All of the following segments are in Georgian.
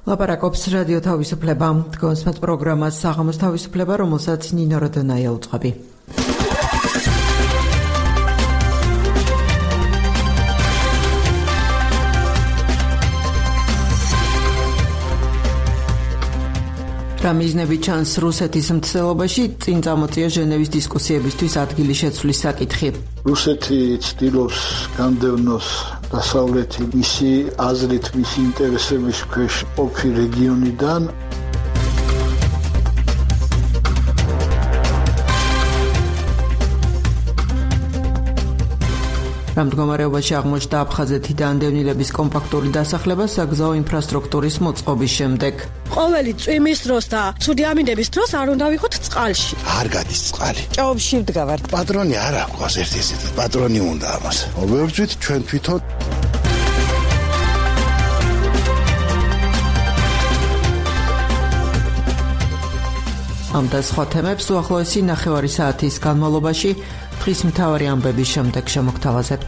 ლაპარაკობს რადიო თავისუფლება. Თქვენს პროგრამას საღამოს თავისუფლება, რომელსაც ნინო როდონაია უწყობი. რა მიზნები ჩანს რუსეთის მცდელობაში, წინ წამოწია ჟენევის დისკუსიებისთვის ადგილი შეცვლის საკითხი. რუსეთი ცდილობს განდევნოს დასავლეთი მისი აზრით, მისი ინტერესების ქვეშ ყოფი რეგიონიდან. რამ მდგომარეობაში აღმოჩნდა აფხაზეთიდან დევნილების კომპაქტური დასახლება საგზაო ინფრასტრუქტურის მოწყობის შემდეგ. ყოველი წვიმის დროს და ცუდი ამინდების დროს არ უნდა ვიყოთ წყალში. არ გადის წყალი. ჭაობში ვდგავართ. პატრონი არ აქვს ერთ-ერთი პატრონი უნდა ამას. მოვებრძვით ჩვენ თვითონ. ამ და სხვა თემებს უახლოესი ნახევარი საათის განმავლობაში დღის მთავარი ამბების შემდეგ შემოგთავაზებთ.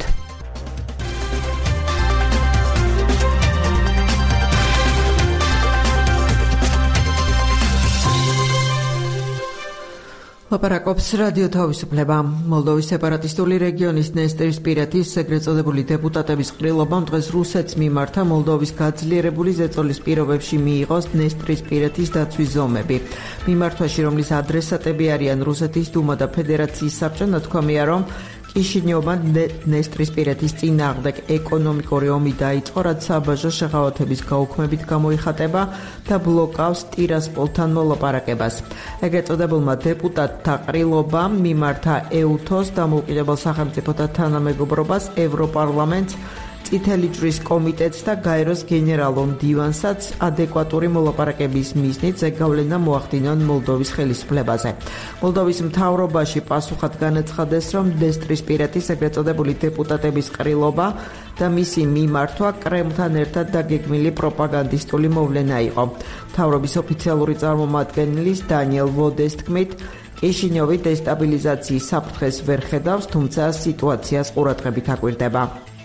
ლაპარაკობს რადიო თავისუფლება. მოლდოვის სეპარატისტული რეგიონის ნესტრისპირეთის ეგრეთ წოდებული დეპუტატების ყრილობამ დღეს რუსეთს მიმართა მოლდოვის გაძლიერებული ზეწოლის პირობებში მიიღოს ნესტრისპირეთის დაცვის ზომები. მიმართვაში, რომლის ადრესატები არიან რუსეთის დუმა და ფედერაციის საბჭო, ნათქვამია, რომ კიშინიოვმა ნესტრისპირეთის წინააღმდეგ ეკონომიკური ომი დაიწყო, რაც საბაჟო შეღავათების გაუქმებით გამოიხატება და ბლოკავს ტირასპოლთან მოლაპარაკებას. ეგრეთ წოდებულმა დეპუტატთა ყრილობამ მიმართა ეუთოს დამოუკიდებელ სახელმწიფოთა თანამეგობრობას, ევროპარლამენტს, წითელი ჯვრის კომიტეტს და გაეროს გენერალურ მდივანსაც ადეკვატური მოლაპარაკების მიზნით ზეგავლენა მოახდინონ მოლდოვის ხელისუფლებაზე. მოლდოვის მთავრობაში პასუხად განაცხადეს, რომ ნესტრისპირეთის ეგრეთ წოდებული დეპუტატების ყრილობა და მისი მიმართვა კრემლთან ერთად დაგეგმილი პროპაგანდისტული მოვლენა იყო. მთავრობის ოფიციალური წარმომადგენლის დანიელ ვოდეს თქმით, კიშინიოვი დესტაბილიზაციის საფრთხეს ვერ ხედავს, თუმცა სიტუაციას ყურადღებით აკვირდება.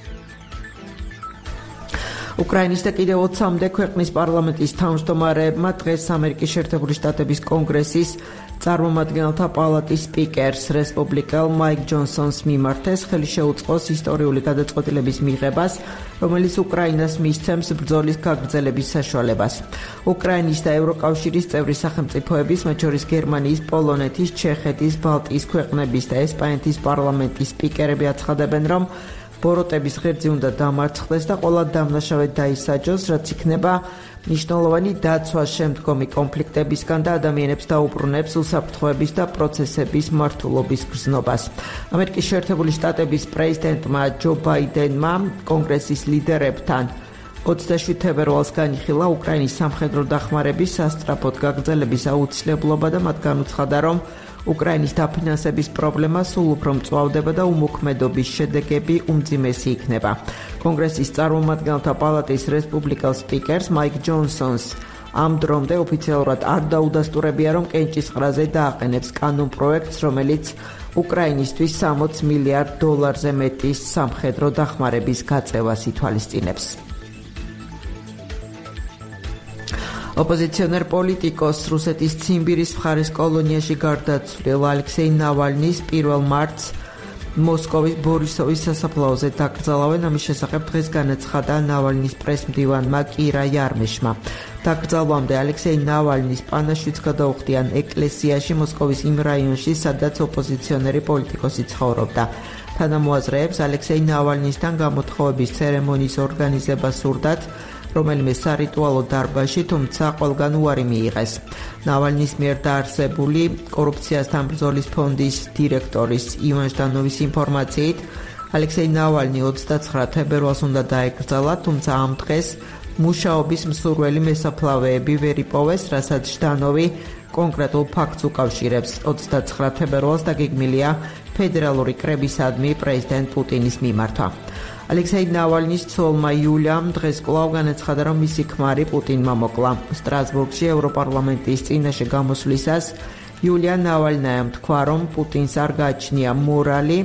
უკრაინის და კიდევ 20 ქვეყნის პარლამენტის თავმჯდომარეებმა დღეს ამერიკის შეერთებული შტატების კონგრესის წარმომადგენელთა პალატის სპიკერს, რესპუბლიკელ მაიკ ჯონსონს მიმართეს ხელი შეუწყოს ისტორიული გადაწყვეტილების მიღებას, რომელიც უკრაინას მისცემს ბრძოლის გაგრძელების საშუალებას. უკრაინის და ევროკავშირის წევრი სახელმწიფოების, მათ შორის გერმანიის, პოლონეთის, ჩეხეთის, ბალტიის ქვეყნების და ესპანეთის პარლამენტის სპიკერები აცხადებენ, რომ ბოროტების ღერძი უნდა დამარცხდეს და ყველა დამნაშავე დაისაჯოს, რაც იქნება მნიშვნელოვანი დაცვა შემდგომი კონფლიქტებისგან და ადამიანებს დაუბრუნებს უსაფრთხოების და პროცესების მართულობის გრძნობას. ამერიკის შეერთებული შტატების პრეზიდენტმა ჯო ბაიდენმა კონგრესის ლიდერებთან 27 თებერვალს განიხილა უკრაინის სამხედრო დახმარების სასწრაფოდ გაგრძელების აუცილებლობა და მათ განუცხადა, რომ უკრაინის დაფინანსების პრობლემა სულ უფრო მწვავდება და უმოქმედობის შედეგები უმძიმესი იქნება. კონგრესის წარმომადგენელთა პალატის რესპუბლიკელ სპიკერს მაიკ ჯონსონს ამ დრომდე ოფიციალურად არ დაუდასტურებია, რომ კენჭისყრაზე დააყენებს კანონპროექტს, რომელიც უკრაინისთვის 60 მილიარდ დოლარზე მეტის სამხედრო დახმარების გაწევას ითვალისწინებს. ოპოზიციონერ პოლიტიკოს რუსეთის ციმბირის მხარის კოლონიაში გარდაცვლილ ალექსეი ნავალნის 1 მარტს მოსკოვის ბორისოვის სასაფლაოზე დაკრძალავენ. ამის შესახებ დღეს განაცხადა ნავალნის პრესმდივანმა კირა იარმეშმა. დაკრძალვამდე ალექსეი ნავალნის პანაშვიდს გადაუხდიან ეკლესიაში მოსკოვის იმ რაიონში, სადაც ოპოზიციონერი პოლიტიკოსი ცხოვრობდა. თანამოაზრეებს ალექსეი ნავალნისთან გამოთხოვების ცერემონიის ორგანიზება სურდათ, რომელიმე სარიტუალო დარბაზში, თუმცა ყველგან უარი მიიღეს. ნავალნის მიერ დაარსებული კორუფციასთან ბრძოლის ფონდის დირექტორის ივან ჟდანოვის ინფორმაციით, ალექსეი ნავალნი 29 თებერვალს უნდა დაეკრძალა, თუმცა ამ დღეს მუშაობის მსურველი მესაფლავეები ვერ იპოვეს, რასაც ჟდანოვი კონკრეტულ ფაქტს უკავშირებს. 29 თებერვალს დაგეგმილია ფედერალური კრებისადმი პრეზიდენტ პუტინის მიმართვა. ალექსეი ნავალნის ცოლმა იულიამ დღეს კვლავ განაცხადა, რომ მისი ქმარი პუტინმა მოკლა. სტრასბურგში ევროპარლამენტის წინაშე გამოსვლისას იულია ნავალნაიამ თქვა, რომ პუტინს არ გააჩნია მორალი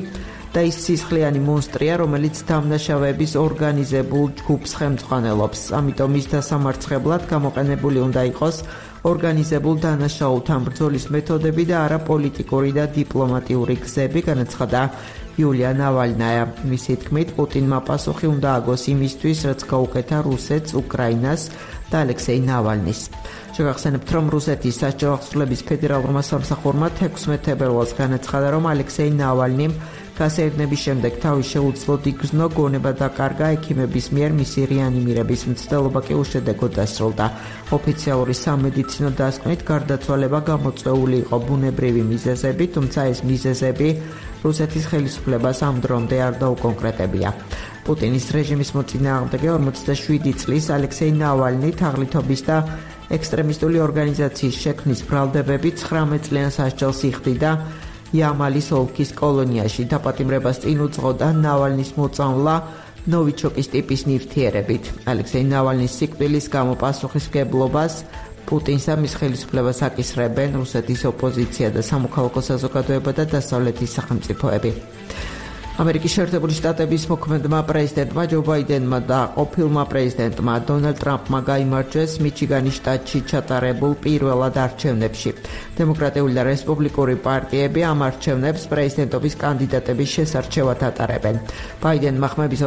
და ის სისხლიანი მონსტრია, რომელიც დამნაშავეების ორგანიზებულ ჯგუფს ხელმძღვანელობს. ამიტომ ის დასამარცხებლად გამოყენებული უნდა იყოს ორგანიზებულ დანაშაულთან ბრძოლის მეთოდები და არა პოლიტიკური და დიპლომატიური გზები, განაცხადა იულია ნავალნაია. მისი თქმით, პუტინმა პასუხი უნდა აგოს იმისთვის, რაც გაუკეთა რუსეთს, უკრაინას და ალექსეი ნავალნის. შეგახსენებთ, რომ რუსეთის სასჯელ აღსრულების ფედერალურმა სამსახურმა 16 თებერვალს განაცხადა, რომ ალექსეი ნავალნიმ გასაერთნების შემდეგ თავის შეუძლოდ იგრძნო, გონება დაკარგა, ექიმების მიერ მისი რეანიმირების მცდელობა კი უშედეგოდ დასრულდა. ოფიციალური სამედიცინო დასკვნით გარდაცვალება გამოწვეული იყო ბუნებრივი მიზეზებით, თუმცა ეს მიზეზები რუსეთის ხელისუფლებას ამ დრომდე არ დაუკონკრეტებია. პუტინის რეჟიმის მოწინააღმდეგე 47 წლის ალექსეი ნავალნი თაღლითობის და ექსტრემისტული ორგანიზაციის შექმნის ბრალდებები 19 წლიან სასჯელს იხდიდა იამალის ოლქის კოლონიაში. დაპატიმრებას წინ უძღოდა ნავალნის მოწამვლა ნოვიჩოკის ტიპის ნივთიერებით. ალექსეი ნავალნის სიკვდილის გამო პასუხისმგებლობას პუტინს და მის ხელისუფლებას აკისრებენ რუსეთის ოპოზიცია და სამოქალაქო საზოგადოება და დასავლეთის სახელმწიფოები. ამერიკის შეერთებული შტატების მოქმედმა პრეზიდენტმა ჯო ბაიდენმა და ყოფილმა პრეზიდენტმა დონალდ ტრამპმა გაიმარჯვეს მიჩიგანის შტატში ჩატარებულ პირველად არჩევნებში. დემოკრატიული და რესპუბლიკური პარტიები ამ არჩევნებს პრეზიდენტობის კანდიდატების შესარჩევად ატარებენ. ბაიდენმა ხმების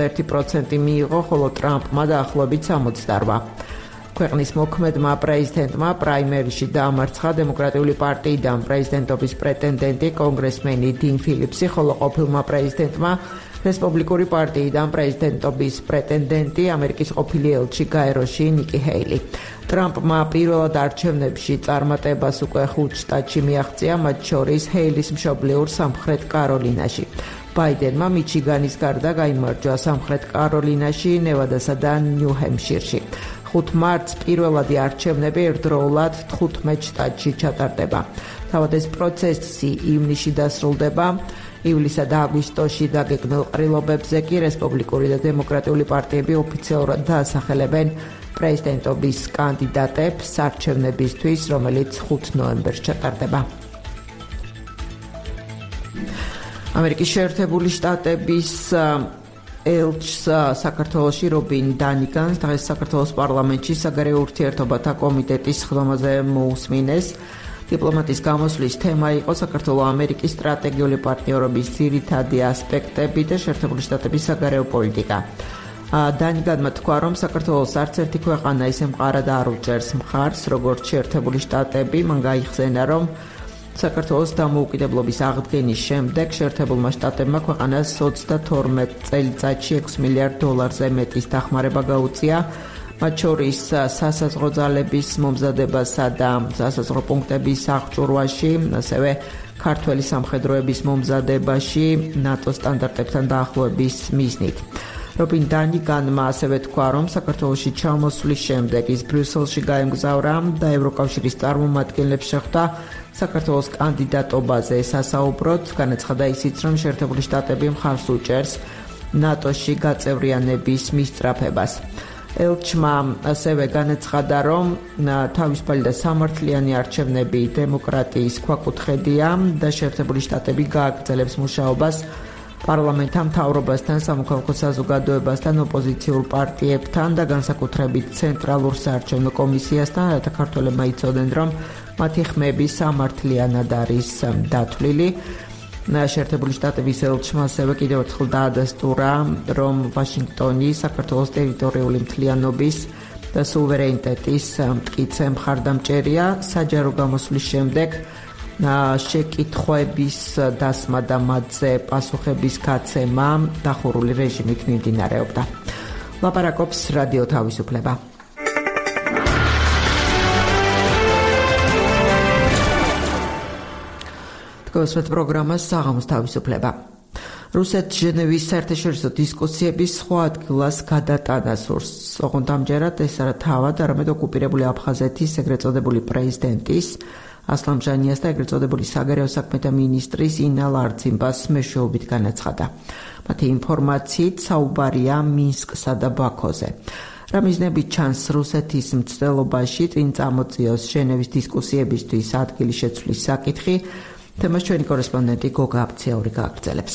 91% მიიღო, ხოლო ტრამპმა დაახლოებით 68%. ქვეყნის მოქმედმა პრეზიდენტმა პრაიმერიში დაამარცხა დემოკრატიული პარტიიდან პრეზიდენტობის პრეტენდენტი კონგრესმენი 딘 ფილიპსი, ხოლო ყოფილმა პრეზიდენტმა რესპუბლიკური პარტიიდან პრეზიდენტობის პრეტენდენტი ამერიკის ყოფილი ელჩი გაეროში ნიკი ჰეილი. ტრამპმა პირველად არჩევნებში წარმატებას უკვე 5 შტატში მიაღწია, მათ შორის ჰეილის მშობლიურ სამხრეთ კაროლინაში. ბაიდენმა მიჩიგანის გარდა გაიმარჯვა სამხრეთ კაროლინაში, ნევადასა და ნიუ-ჰემპშირში. 5 მარტს პირველადი არჩევნები ერთდროულად 15 შტატში ჩატარდება. თავად ეს პროცესი ივნისში დასრულდება. ივლისა და აგვისტოში დაგეგმილ ყრილობებზე კი რესპუბლიკური და დემოკრატიული პარტიები ოფიციალურად დაასახელებენ პრეზიდენტობის კანდიდატებს არჩევნებისთვის, რომელიც 5 ნოემბერს ჩატარდება. ამერიკის შეერთებული შტატების ელჩს საქართველოში რობინ დანიგანს დღეს საქართველოს პარლამენტში საგარეო ურთიერთობათა კომიტეტის ხდომაზე მოусმინეს. დიპლომატის გამოსვლის თემა იყო საქართველო-ამერიკის სტრატეგიული პარტნიორობის ძირითადი ასპექტები და შეერთებული შტატების საგარეო პოლიტიკა. დანიგანმა თქვა, რომ საქართველოს არც ერთი ქვეყანა ისე მყარად არ უჭერს მხარს, როგორც შეერთებული შტატები. მან გაიხსენა, რომ საქართველოს დამოუკიდებლობის აღდგენის შემდეგ შეერთებულმა შტატებმა ქვეყანას 22 წელიწადში $6 მილიარდზე მეტის დახმარება გაუწია, მათ შორის სასაზღვრო ძალების მომზადებასა და სასაზღვრო პუნქტების აღჭურვაში, ასევე ქართველი სამხედროების მომზადებაში ნატო სტანდარტებთან დაახლოების მიზნით. რობინ დანიგანმა ასევე თქვა, რომ საქართველოში ჩამოსვლის შემდეგ ის ბრიუსელში გაემგზავრა და ევროკავშირის წარმომადგენლებს შეხვდა საქართველოს კანდიდატობაზე სასაუბროთ. განაცხადა ისიც, რომ შეერთებული შტატები მხარს უჭერს ნატოში გაწევრიანების მისწრაფებას. ელჩმა ასევე განაცხადა, რომ თავისუფალი და სამართლიანი არჩევნები დემოკრატიის ქვაკუთხედია და შეერთებული შტატები გააგრძელებს მუშაობას პარლამენტთან, მთავრობასთან, სამოქალაქო საზოგადოებასთან, ოპოზიციურ პარტიებთან და განსაკუთრებით ცენტრალურ საარჩევნო კომისიასთან, რათა ქართველებმა იცოდნენ, რომ მათი ხმები სამართლიანად არის დათვლილი. შეერთებული შტატების ელჩმა ასევე კიდევ ერთხელ დაადასტურა, რომ ვაშინგტონი საქართველოს ტერიტორიული მთლიანობის და სუვერენიტეტის მტკიცე მხარდამჭერია. საჯარო გამოსვლის შემდეგ შეკითხვების დასმა და მათზე პასუხების გაცემა დახურული რეჟიმით მიმდინარეობდა. ლაპარაკობს რადიო თავისუფლება. გასვეთ პროგრამას საღამოს თავისუფლება. რუსეთ ჟენევის საერთაშორისო დისკუსიების სხვა ადგილას გადატანა სურს. ოღონდ ამჯერად ეს არა თავად, არამედ ოკუპირებული აფხაზეთის ეგრეთ წოდებული პრეზიდენტის ასლან ჟანიას და ეგრეთ წოდებული საგარეო საქმეთა მინისტრის ინა ლარცინბას მეშვეობით განაცხადა. მათი ინფორმაციით საუბარია მინსკსა და ბაქოზე. რა მიზნებით ჩანს რუსეთის მცდელობაში წინ წამოწიოს ჟენევის დისკუსიებისთვის ადგილი შეცვლის საკითხი, თემას ჩვენი კორესპონდენტი გოგა აფციური გააგრძელებს.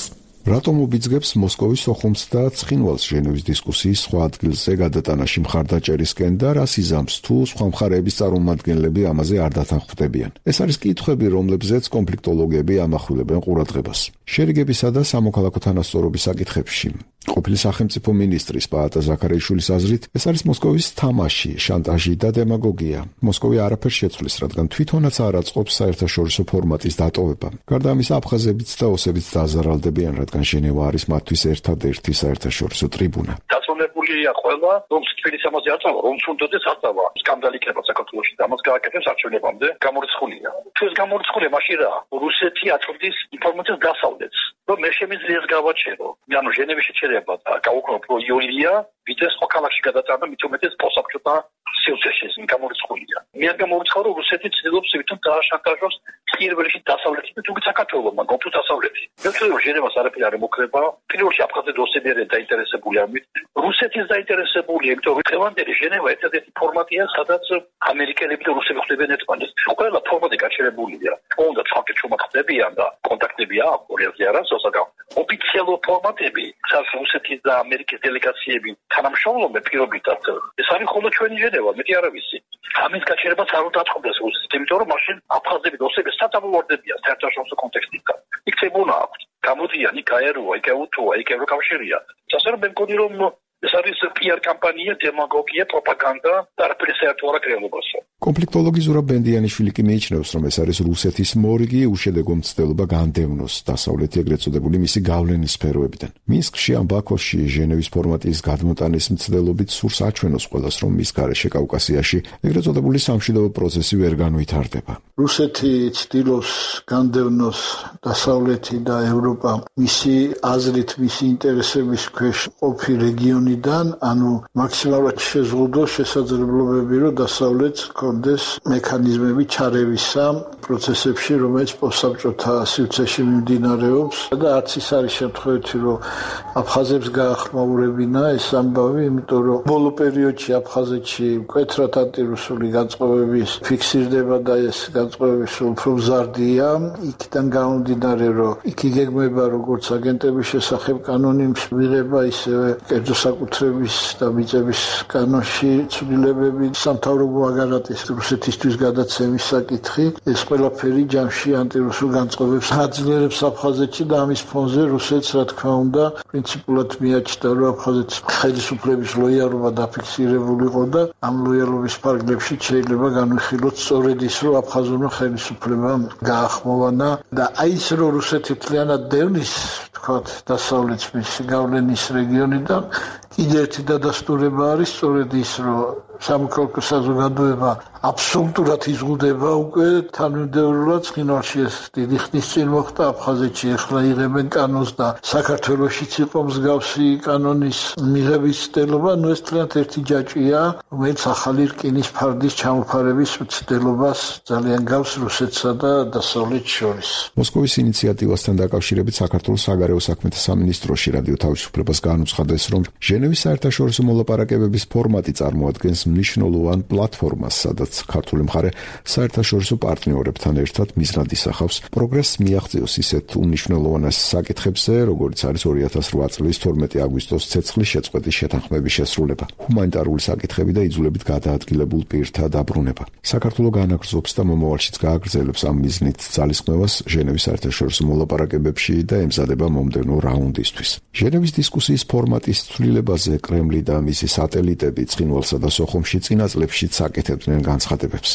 რატომ უბიძგებს მოსკოვის სოხუმს და ცხინვალს ჟენევის დისკუსიის სხვა ადგილზე გადატანაში მხარდაჭერისკენ და რას იზამს თუ სხვა მხარეების წარმომადგენლები ამაზე არ დათანხმდებიან? ეს არის კითხვები, რომლებზეც კონფლიქტოლოგები ამახვილებენ ყურადღებას. შერიგებისა და სამოქალაქო თანასწორობის საკითხებში ყოფილი სახელმწიფო მინისტრის პაატა ზაქარიაშვილის აზრით, ეს არის მოსკოვის თამაში, შანტაჟი და დემაგოგია. მოსკოვი არაფერს შეცვლის, რადგან თვითონაც არ აწყობს საერთაშორისო ფორმატის დატოვება. გარდა ამისა, აფხაზებიც და ოსებიც დაზარალდებიან, რადგან ჟენევა არის მათთვის ერთადერთი საერთაშორისო ტრიბუნა. დაწონებულია ყველა, რომ თბილისს ამაზე აწავა, რომ თუნდაც აწავა. სკანდალი იქნება საქართველოში და ამას გააკეთებს არჩევნებამდე გამორიცხულია. თუ ეს გამორიცხულია, მაშინ რა? რუსეთი აწვდის ინფორმაციას დასავლეთს. რომ მე შემიძლია ეს გავაჩერო. ანუ ჟენევის შეჩერება და გავუკრო პრო იულია, ვიდრე სხვა ქალაქში გადაწანა, მით უმეტეს პოსაბჭოთა სივრცეში გამორიცხულია. მე არ გამორიცხავ, რომ რუსეთი ცდილობს თვითონ დააშანტაჟოს პირველში დასავლეთი და თუნდაც საქართველოს, მაგრამ თუ დასავლეთი. მე ვთქვი, რომ ჟენევას არაფერი არ ემუქრება. პირველში აფხაზები და ოსები არიან დაინტერესებული ამით. რუსეთის დაინტერესებულია, იმიტომ რომ დღევანდელი ჟენევა ერთადერთი ფორმატია, სადაც ამერიკელები და რუსები ხდებიან ერთმანეთს. ყველა ფორმატი გაჩერებულია. უნდა ცალკე ჩუმად ხდებიან და კონტაქტები აქვს ორი არასოდეს ოფიციალურ ფორმატები, სადაც რუსეთის და ამერიკის დელეგაციები თანამშრომლობენ პირობითად. ეს არის მხოლოდ ჩვენი ჟენევა, მეტი არ ვიცი. ამის გაჩერებას არ უნდა აწყობდეს რუსეთს, იმიტომ რომ მაშინ აფხაზები და ოსები სათამაშოებდებიან საერთაშორისო კონტექსტიდან. იქ ცებუნა აქვს. გამოდიან, იქ აეროა, იქ უთუა, იქ ევროკავშირია. ასე რომ მე მგონი რომ ეს არის PR კამპანია, დემაგოგია, პროპაგანდა და არაფერი საერთო არ აქვს რეალობასთან. კონფლიქტოლოგი ზურაბ ბენდიანიშვილი კი მიიჩნევს, რომ ეს არის რუსეთის მორიგი უშედეგო მცდელობა განდევნოს დასავლეთი ეგრეთ წოდებული მისი გავლენის სფეროებიდან. მინსკში ან ბაქოში ჟენევის ფორმატის გადმოტანის მცდელობით სურს აჩვენოს ყველას, რომ მის გარეშე კავკასიაში ეგრეთ წოდებული სამშვიდობო პროცესი ვერ განვითარდება. რუსეთი ცდილობს განდევნოს დასავლეთი და ევროპა მისი აზრით, მისი ინტერესების ქვეშ ყოფი რეგიონიდან, ანუ მაქსიმალურად შეზღუდოს შესაძლებლობები, რომ დასავლეთს კონდეს მექანიზმები ჩარევისა პროცესებში, რომელიც პოსტსაბჭოთა სივრცეში მიმდინარეობს და არც ის არის შემთხვევით, რომ აფხაზებს გაახმაურებინა ეს ამბავი, იმიტომ რომ ბოლო პერიოდში აფხაზეთში მკვეთრად ანტირუსული განწყობების ფიქსირდება და ეს განწყობები უფრო მზარდია. იქიდან გამომდინარე, რომ იქ იგეგმება როგორც აგენტების შესახებ კანონის მიღება, ისევე კერძო საკუთრების და მიწების კანონში ცვლილებები, სამთავრობო აგარატის რუსეთისთვის გადაცემის საკითხი, ეს ყველაფერი ჯამში ანტირუსულ განწყობებს აძლიერებს აფხაზეთში და ამის ფონზე რუსეთს, რა თქმა უნდა, პრინციპულად მიაჩნდა, რომ აფხაზეთის ხელისუფლების ლოიალობა დაფიქსირებულიყო და ამ ლოიალობის ფარგლებში შეიძლება განვიხილოთ სწორედ ის, რომ აფხაზურმა ხელისუფლებამ გაახმოვანა და აი ეს რომ რუსეთი მთლიანად დევნის, თქვათ, დასავლეთ მისი გავლენის რეგიონიდან კიდევ ერთი დადასტურება არის სწორედ ის, რომ სამოქალაქო საზოგადოება აბსოლუტურად იზღუდება უკვე თანმიმდევრულად. ცხინვალში ეს დიდი ხნის წინ მოხდა, აფხაზეთში ეხლა იღებენ კანონს და საქართველოშიც იყო მსგავსი კანონის მიღების ცდელობა. ნუ ეს თლიანად ერთი ჯაჭვია, რომელიც ახალი რკინის ფარდის ჩამოფარების მცდელობას ძალიან გავს რუსეთსა და დასავლეთს შორის. მოსკოვის ინიციატივასთან დაკავშირებით საქართველოს საგარეო საქმეთა სამინისტროში რადიო თავისუფლებას განუცხადეს, რომ ჟენევის საერთაშორისო მოლაპარაკებების ფორმატი წარმოადგენს მნიშვნელოვან პლატფორმას, სადაც ქართული მხარე საერთაშორისო პარტნიორებთან ერთად მიზნად ისახავს პროგრესს მიაღწიოს ისეთ უნიშნელოვანეს საკითხებზე, როგორც არის 2008 წლის 12 აგვისტოს ცეცხლის შეწყვეტის შეთანხმების შესრულება, ჰუმანიტარული საკითხები და იძულებით გადაადგილებულ პირთა დაბრუნება. საქართველო განაგრძობს და მომავალშიც გააგრძელებს ამ მიზნით ძალისხმევას ჟენევის საერთაშორისო მოლაპარაკებებში და ემზადება მომდევნო რაუნდისთვის. ჟენევის დისკუსიის ფორმატის ცვლილებაზე კრემლი და მისი სატელიტები ცხინვალსა და სოხუმში წინა წლებშიც აკეთებდნენ განცხადებებს.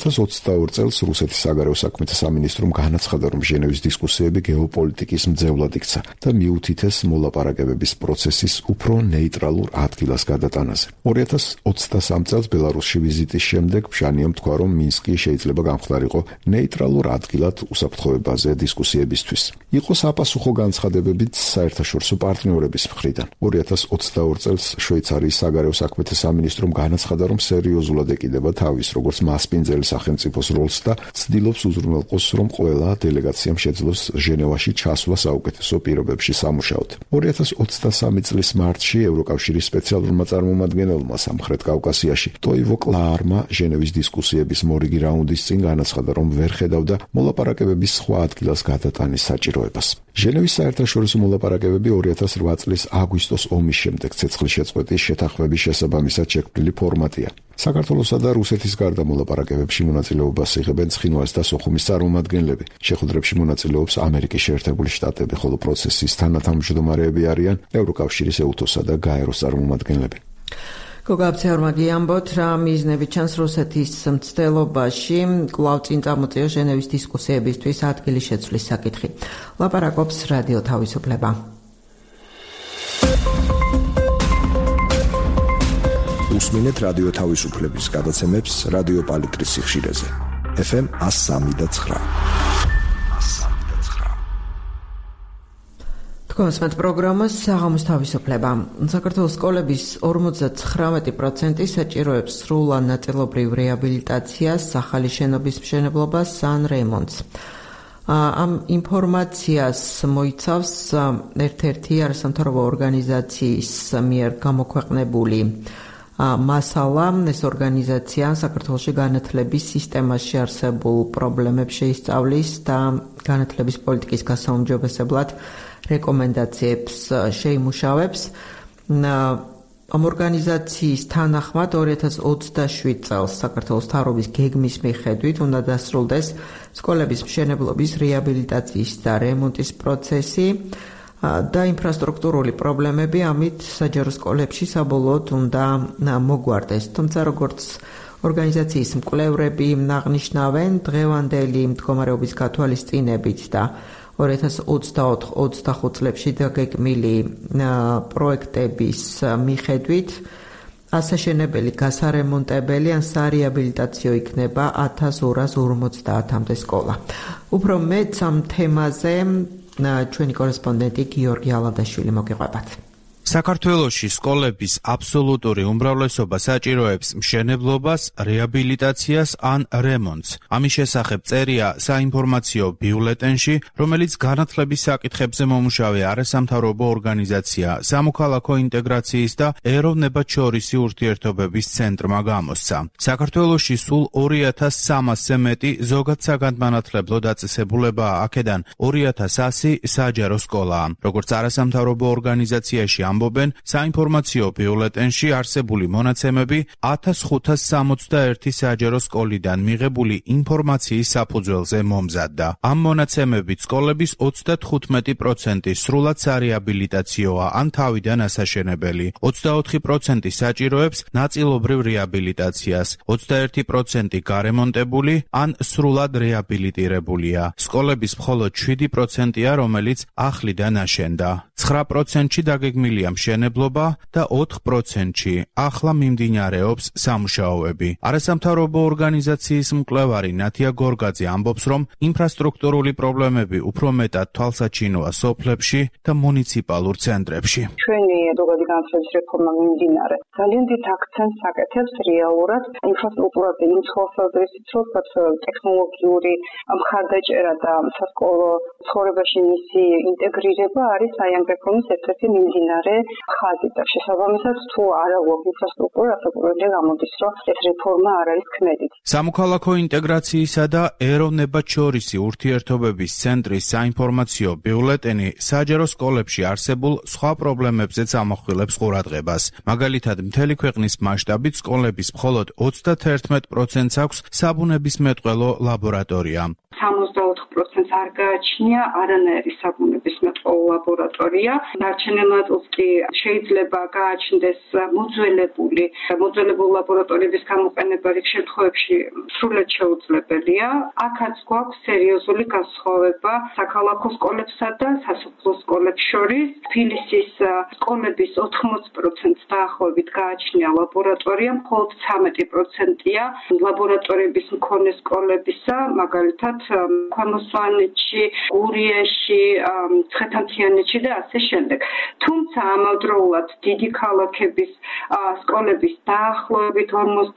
2022 წელს რუსეთის საგარეო საქმეთა სამინისტრომ განაცხადა, რომ ჟენევის დისკუსიები გეოპოლიტიკის მძევლად იქცა და მიუთითეს მოლაპარაკებების პროცესის უფრო ნეიტრალურ ადგილას გადატანაზე. 2023 წელს ბელარუსში ვიზიტის შემდეგ ბჟანიამ თქვა, რომ მინსკი შეიძლება გამხდარიყო ნეიტრალურ ადგილად უსაფრთხოებაზე დისკუსიებისთვის. იყო საპასუხო განცხადებებიც საერთაშორისო პარტნიორების მხრიდან. 2023 22 წელს შვეიცარიის საგარეო საქმეთა სამინისტრომ განაცხადა, რომ სერიოზულად ეკიდება თავის როგორც მასპინძელი სახელმწიფოს როლს და ცდილობს უზრუნველყოს, რომ ყველა დელეგაციამ შეძლოს ჟენევაში ჩასვლა საუკეთესო პირობებში სამუშაოდ. 2023 წლის მარტში ევროკავშირის სპეციალურმა წარმომადგენელმა სამხრეთ კავკასიაში ტოივო კლაარმა ჟენევის დისკუსიების მორიგი რაუნდის წინ განაცხადა, რომ ვერ ხედავდა მოლაპარაკებების სხვა ადგილას გადატანის საჭიროებას. ჟენევის საერთაშორისო მოლაპარაკებები 2008 წლის აგვისტოს ომის შემდეგ ცეცხლის შეწყვეტის შეთანხმების შესაბამისად შექმნილი ფორმატია. საქართველოსა და რუსეთის გარდა მოლაპარაკებებში მონაწილეობას იღებენ ცხინვალის და სოხუმის წარმომადგენლები. შეხვედრებში მონაწილეობს ამერიკის შეერთებული შტატები, ხოლო პროცესის თანათავმჯდომარეები არიან ევროკავშირის ეუთოსა და გაეროს წარმომადგენლები. გოგაბცეორმა გიამბოთ, რა მიზნები ჩანს რუსეთის მცდელობაში კვლავ წინ წამოწია ჟენევის დისკუსიებისთვის ადგილის შეცვლის საკითხი. ლაპარაკობს რადიო თავისუფლება. უსმინეთ რადიო თავისუფლების გადაცემებს რადიო პალიტრის სიხშირეზე. FM 103.9. კონსმეთ პროგრამას საღამოს თავისუფლება. საქართველოს სკოლების 59% საჭიროებს სრულ ან ნაწილობრივ რეაბილიტაციას, ახალი შენობის მშენებლობას ან რემონტს. ამ ინფორმაციას მოიცავს ერთ-ერთი არასამთავრობო ორგანიზაციის მიერ გამოქვეყნებული მასალა. ეს ორგანიზაცია საქართველოში განათლების სისტემაში არსებულ პრობლემებს შეისწავლის და განათლების პოლიტიკის გასაუმჯობესებლად რეკომენდაციებს შეიმუშავებს. ამ ორგანიზაციის თანახმად 2027 წელს საქართველოს მთავრობის გეგმის მიხედვით უნდა დასრულდეს სკოლების მშენებლობის, რეაბილიტაციის და რემონტის პროცესი და ინფრასტრუქტურული პრობლემები ამით საჯარო სკოლებში საბოლოოდ უნდა მოგვარდეს. თუმცა როგორც ორგანიზაციის მკვლევრები აღნიშნავენ, დღევანდელი მდგომარეობის გათვალისწინებით და 2024-25 წლებში დაგეგმილი პროექტების მიხედვით ასაშენებელი, გასარემონტებელი ან სარეაბილიტაციო იქნება 1250-მდე სკოლა. უფრო მეტ ამ თემაზე ჩვენი კორესპონდენტი გიორგი ალადაშვილი მოგიყვებათ. საქართველოში სკოლების აბსოლუტური უმრავლესობა საჭიროებს მშენებლობას, რეაბილიტაციას ან რემონტს. ამის შესახებ წერია საინფორმაციო ბიულეტენში, რომელიც განათლების საკითხებზე მომუშავე არასამთავრობო ორგანიზაცია სამოქალაქო ინტეგრაციის და ეროვნებათშორისი ურთიერთობების ცენტრმა გამოსცა. საქართველოში სულ 2300-ზე მეტი ზოგადსაგანმანათლებლო დაწესებულებაა, აქედან 2100 საჯარო სკოლაა. როგორც არასამთავრობო ორგანიზაციაში ამბობენ, საინფორმაციო ბიულეტენში არსებული მონაცემები 1561 საჯარო სკოლიდან მიღებული ინფორმაციის საფუძველზე მომზადდა. ამ მონაცემებით სკოლების 35% სრულად სარეაბილიტაციოა ან თავიდან ასაშენებელი, 24% საჭიროებს ნაწილობრივ რეაბილიტაციას, 21% გარემონტებული ან სრულად რეაბილიტირებულია. სკოლების მხოლოდ 7%-ია, რომელიც ახლიდან აშენდა. 9%-ში დაგეგმილია მშენებლობა და 4%-ში ახლა მიმდინარეობს სამუშაოები. არასამთავრობო ორგანიზაციის მკვლევარი ნათია გორგაძე ამბობს, რომ ინფრასტრუქტურული პრობლემები უფრო მეტად თვალსაჩინოა სოფლებში და მუნიციპალურ ცენტრებში. ჩვენი ზოგადი განათლების რეფორმა მიმდინარე ძალიან დიდ აქცენტს აკეთებს რეალურად ინფრასტრუქტურაზე იმ თვალსაზრისით, რომ ტექნოლოგიური მხარდაჭერა და სასკოლო ცხოვრებაში მისი ინტეგრირება არის აი ამ რეფორმის ერთ-ერთი მიმდინარე ხაზი და შესაბამისად თუ არა გვაქვს ინფრასტრუქტურა, საფუძველი გამოდის, რომ ეს რეფორმა არ არის ქმედით. სამოქალაქო ინტეგრაციისა და ეროვნებათშორისი ურთიერთობების ცენტრის საინფორმაციო ბიულეტენი საჯარო სკოლებში არსებულ სხვა პრობლემებზეც ამახვილებს ყურადღებას. მაგალითად, მთელი ქვეყნის მასშტაბით სკოლების მხოლოდ 31%-ს აქვს საბუნებისმეტყველო ლაბორატორია. 64% არ გააჩნია არანაირი საბუნებისმეტყველო ლაბორატორია. დარჩენილ ნაწილს კი შეიძლება გააჩნდეს მოძველებული ლაბორატორიების გამოყენება რიგ შემთხვევებში სრულად შეუძლებელია. აქაც გვაქვს სერიოზული განსხვავება საქალაქო სკოლებსა და სასოფლო სკოლებს შორის. თბილისის სკოლების 80%-ს დაახლოებით გააჩნია ლაბორატორია, მხოლოდ 13%-ია ლაბორატორიების მქონე სკოლებისა, მაგალითად ქვემო სვანეთში, გურიაში, ცხეთამთიანეთში და ასე შემდეგ. თუმცა ამავდროულად დიდი ქალაქების სკოლების დაახლოებით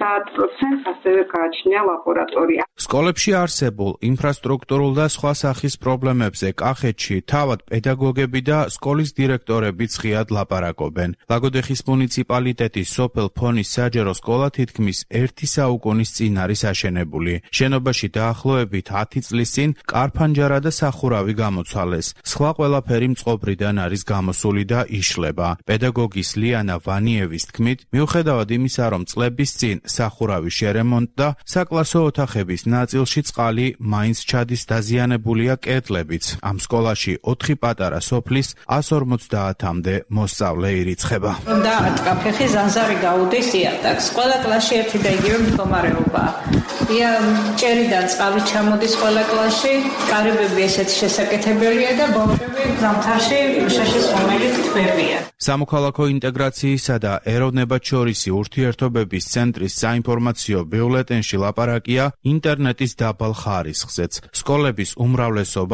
50% ასევე გააჩნია ლაბორატორია. სკოლებში არსებულ ინფრასტრუქტურულ და სხვა სახის პრობლემებზე კახეთში თავად პედაგოგები და სკოლის დირექტორები ღიად ლაპარაკობენ. ლაგოდეხის მუნიციპალიტეტის სოფელ ფონის საჯარო სკოლა თითქმის 1 საუკუნის წინ არის აშენებული. შენობაში დაახლოებით 10 წლის წინ კარფანჯარა და სახურავი გამოცვალეს. სხვა ყველაფერი მწყობრიდან არის გამოსული და იშლება. პედაგოგის ლიანა ვანიევის თქმით, მიუხედავად იმისა, რომ წლების წინ სახურავი შერემონტდა, საკლასო ოთახების ნაწილში წყალი მაინც ჩადის, დაზიანებულია კედლებიც. ამ სკოლაში 4 პატარა სოფლის 150-მდე მოსწავლე ირიცხება. დაარტყა ფეხი, ზანზარი გაუდის იატაკს. ყველა კლასში ერთი და იგივე მდგომარეობაა. ჭერიდან წყალი ჩამოდის ყველა კლასში, კარიბები ესეც შესაკეთებელია და ბავშვები ზამთარში შაშის ხომალით თბებიან. სამოქალაქო ინტეგრაციისა და ეროვნებათშორისი ურთიერთობების ცენტრის საინფორმაციო ბიულეტენში ლაპარაკია ინტერნეტის დაბალ ხარისხზეც. სკოლების უმრავლესობა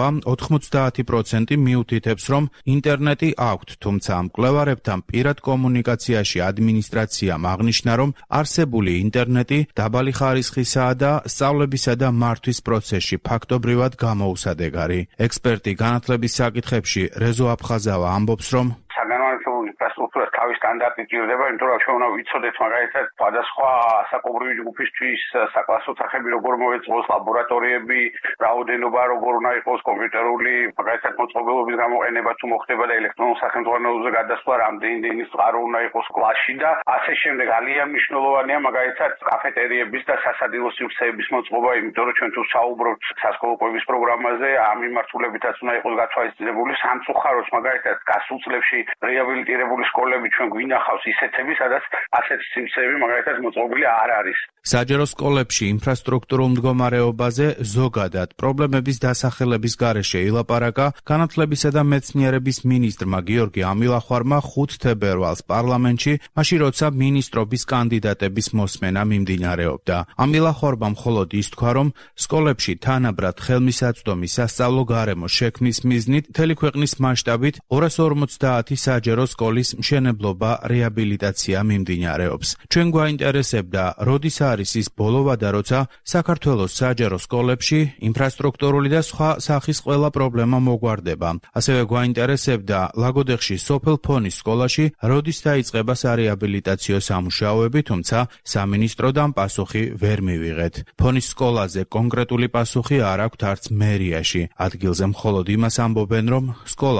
90% მიუთითებს, რომ ინტერნეტი აქვთ, თუმცა ამ მკვლევარებთან პირად კომუნიკაციაში ადმინისტრაციამ აღნიშნა, რომ არსებული ინტერნეტი დაბალი ხარისხისაა და სწავლებისა და მართვის პროცესში ფაქტობრივად გამოუსადეგარი. ექსპერტი განათლების საკითხებში რეზო აფხაზავა ამბობს, რომ საგანმანათლებლო ინფრასტრუქტურას თავის სტანდარტი ჭირდება, იმიტომ რომ ჩვენ უნდა ვიცოდეთ მაგალითად სხვადასხვა საკობრივი ჯგუფისთვის საკლასო ოთახები როგორ მოეწყოს, ლაბორატორიები, რაოდენობა როგორ უნდა იყოს, კომპიუტერული მაგალითად მოწყობილობის გამოყენება თუ მოხდება და ელექტრონულ სახელმწიფოებზე გადასვლა რამდენი წყარო უნდა იყოს კლასში და ასე შემდეგ. ძალიან მნიშვნელოვანია მაგალითად კაფეტერიების და სასადილო სივრცეების მოწყობა, იმიტომ რომ ჩვენ თუ საუბრობთ სასკოლო კვების პროგრამაზე, ამ მიმართულებითაც უნდა იყოს გათვალისწინებული. სამწუხაროდ მაგალითად გასულ წლებში რეაბილიტირებული სკოლები ჩვენ გვინახავს ისეთები, სადაც ასეთი სივრცეები მაგალითად მოწყობილი არ არის. საჯარო სკოლებში ინფრასტრუქტურულ მდგომარეობაზე ზოგადად პრობლემების დასახელების გარეშე ილაპარაკა განათლებისა და მეცნიერების მინისტრმა გიორგი ამილახვარმა 5 თებერვალს პარლამენტში, მაშინ როცა მინისტრობის კანდიდატების მოსმენა მიმდინარეობდა. ამილახვარმა მხოლოდ ის თქვა, რომ სკოლებში თანაბრად ხელმისაწვდომი სასწავლო გარემო შექმნის მიზნით მთელი ქვეყნის მასშტაბით 250 საჯარო სკოლის მშენებლობა რეაბილიტაცია მიმდინარეობს. ჩვენ გვაინტერესებდა, როდის არის ის ბოლოვადა, როცა საქართველოს საჯარო სკოლებში ინფრასტრუქტურული და სხვა სახის ყველა პრობლემა მოგვარდება. ასევე გვაინტერესებდა, ლაგოდეხში სოფელ ფონის სკოლაში როდის დაიწყება სარეაბილიტაციო სამუშაოები, თუმცა სამინისტროდან პასუხი ვერ მივიღეთ. ფონის სკოლაზე კონკრეტული პასუხი არ აქვთ არც მერიაში. ადგილზე მხოლოდ იმას ამბობენ, რომ სკოლა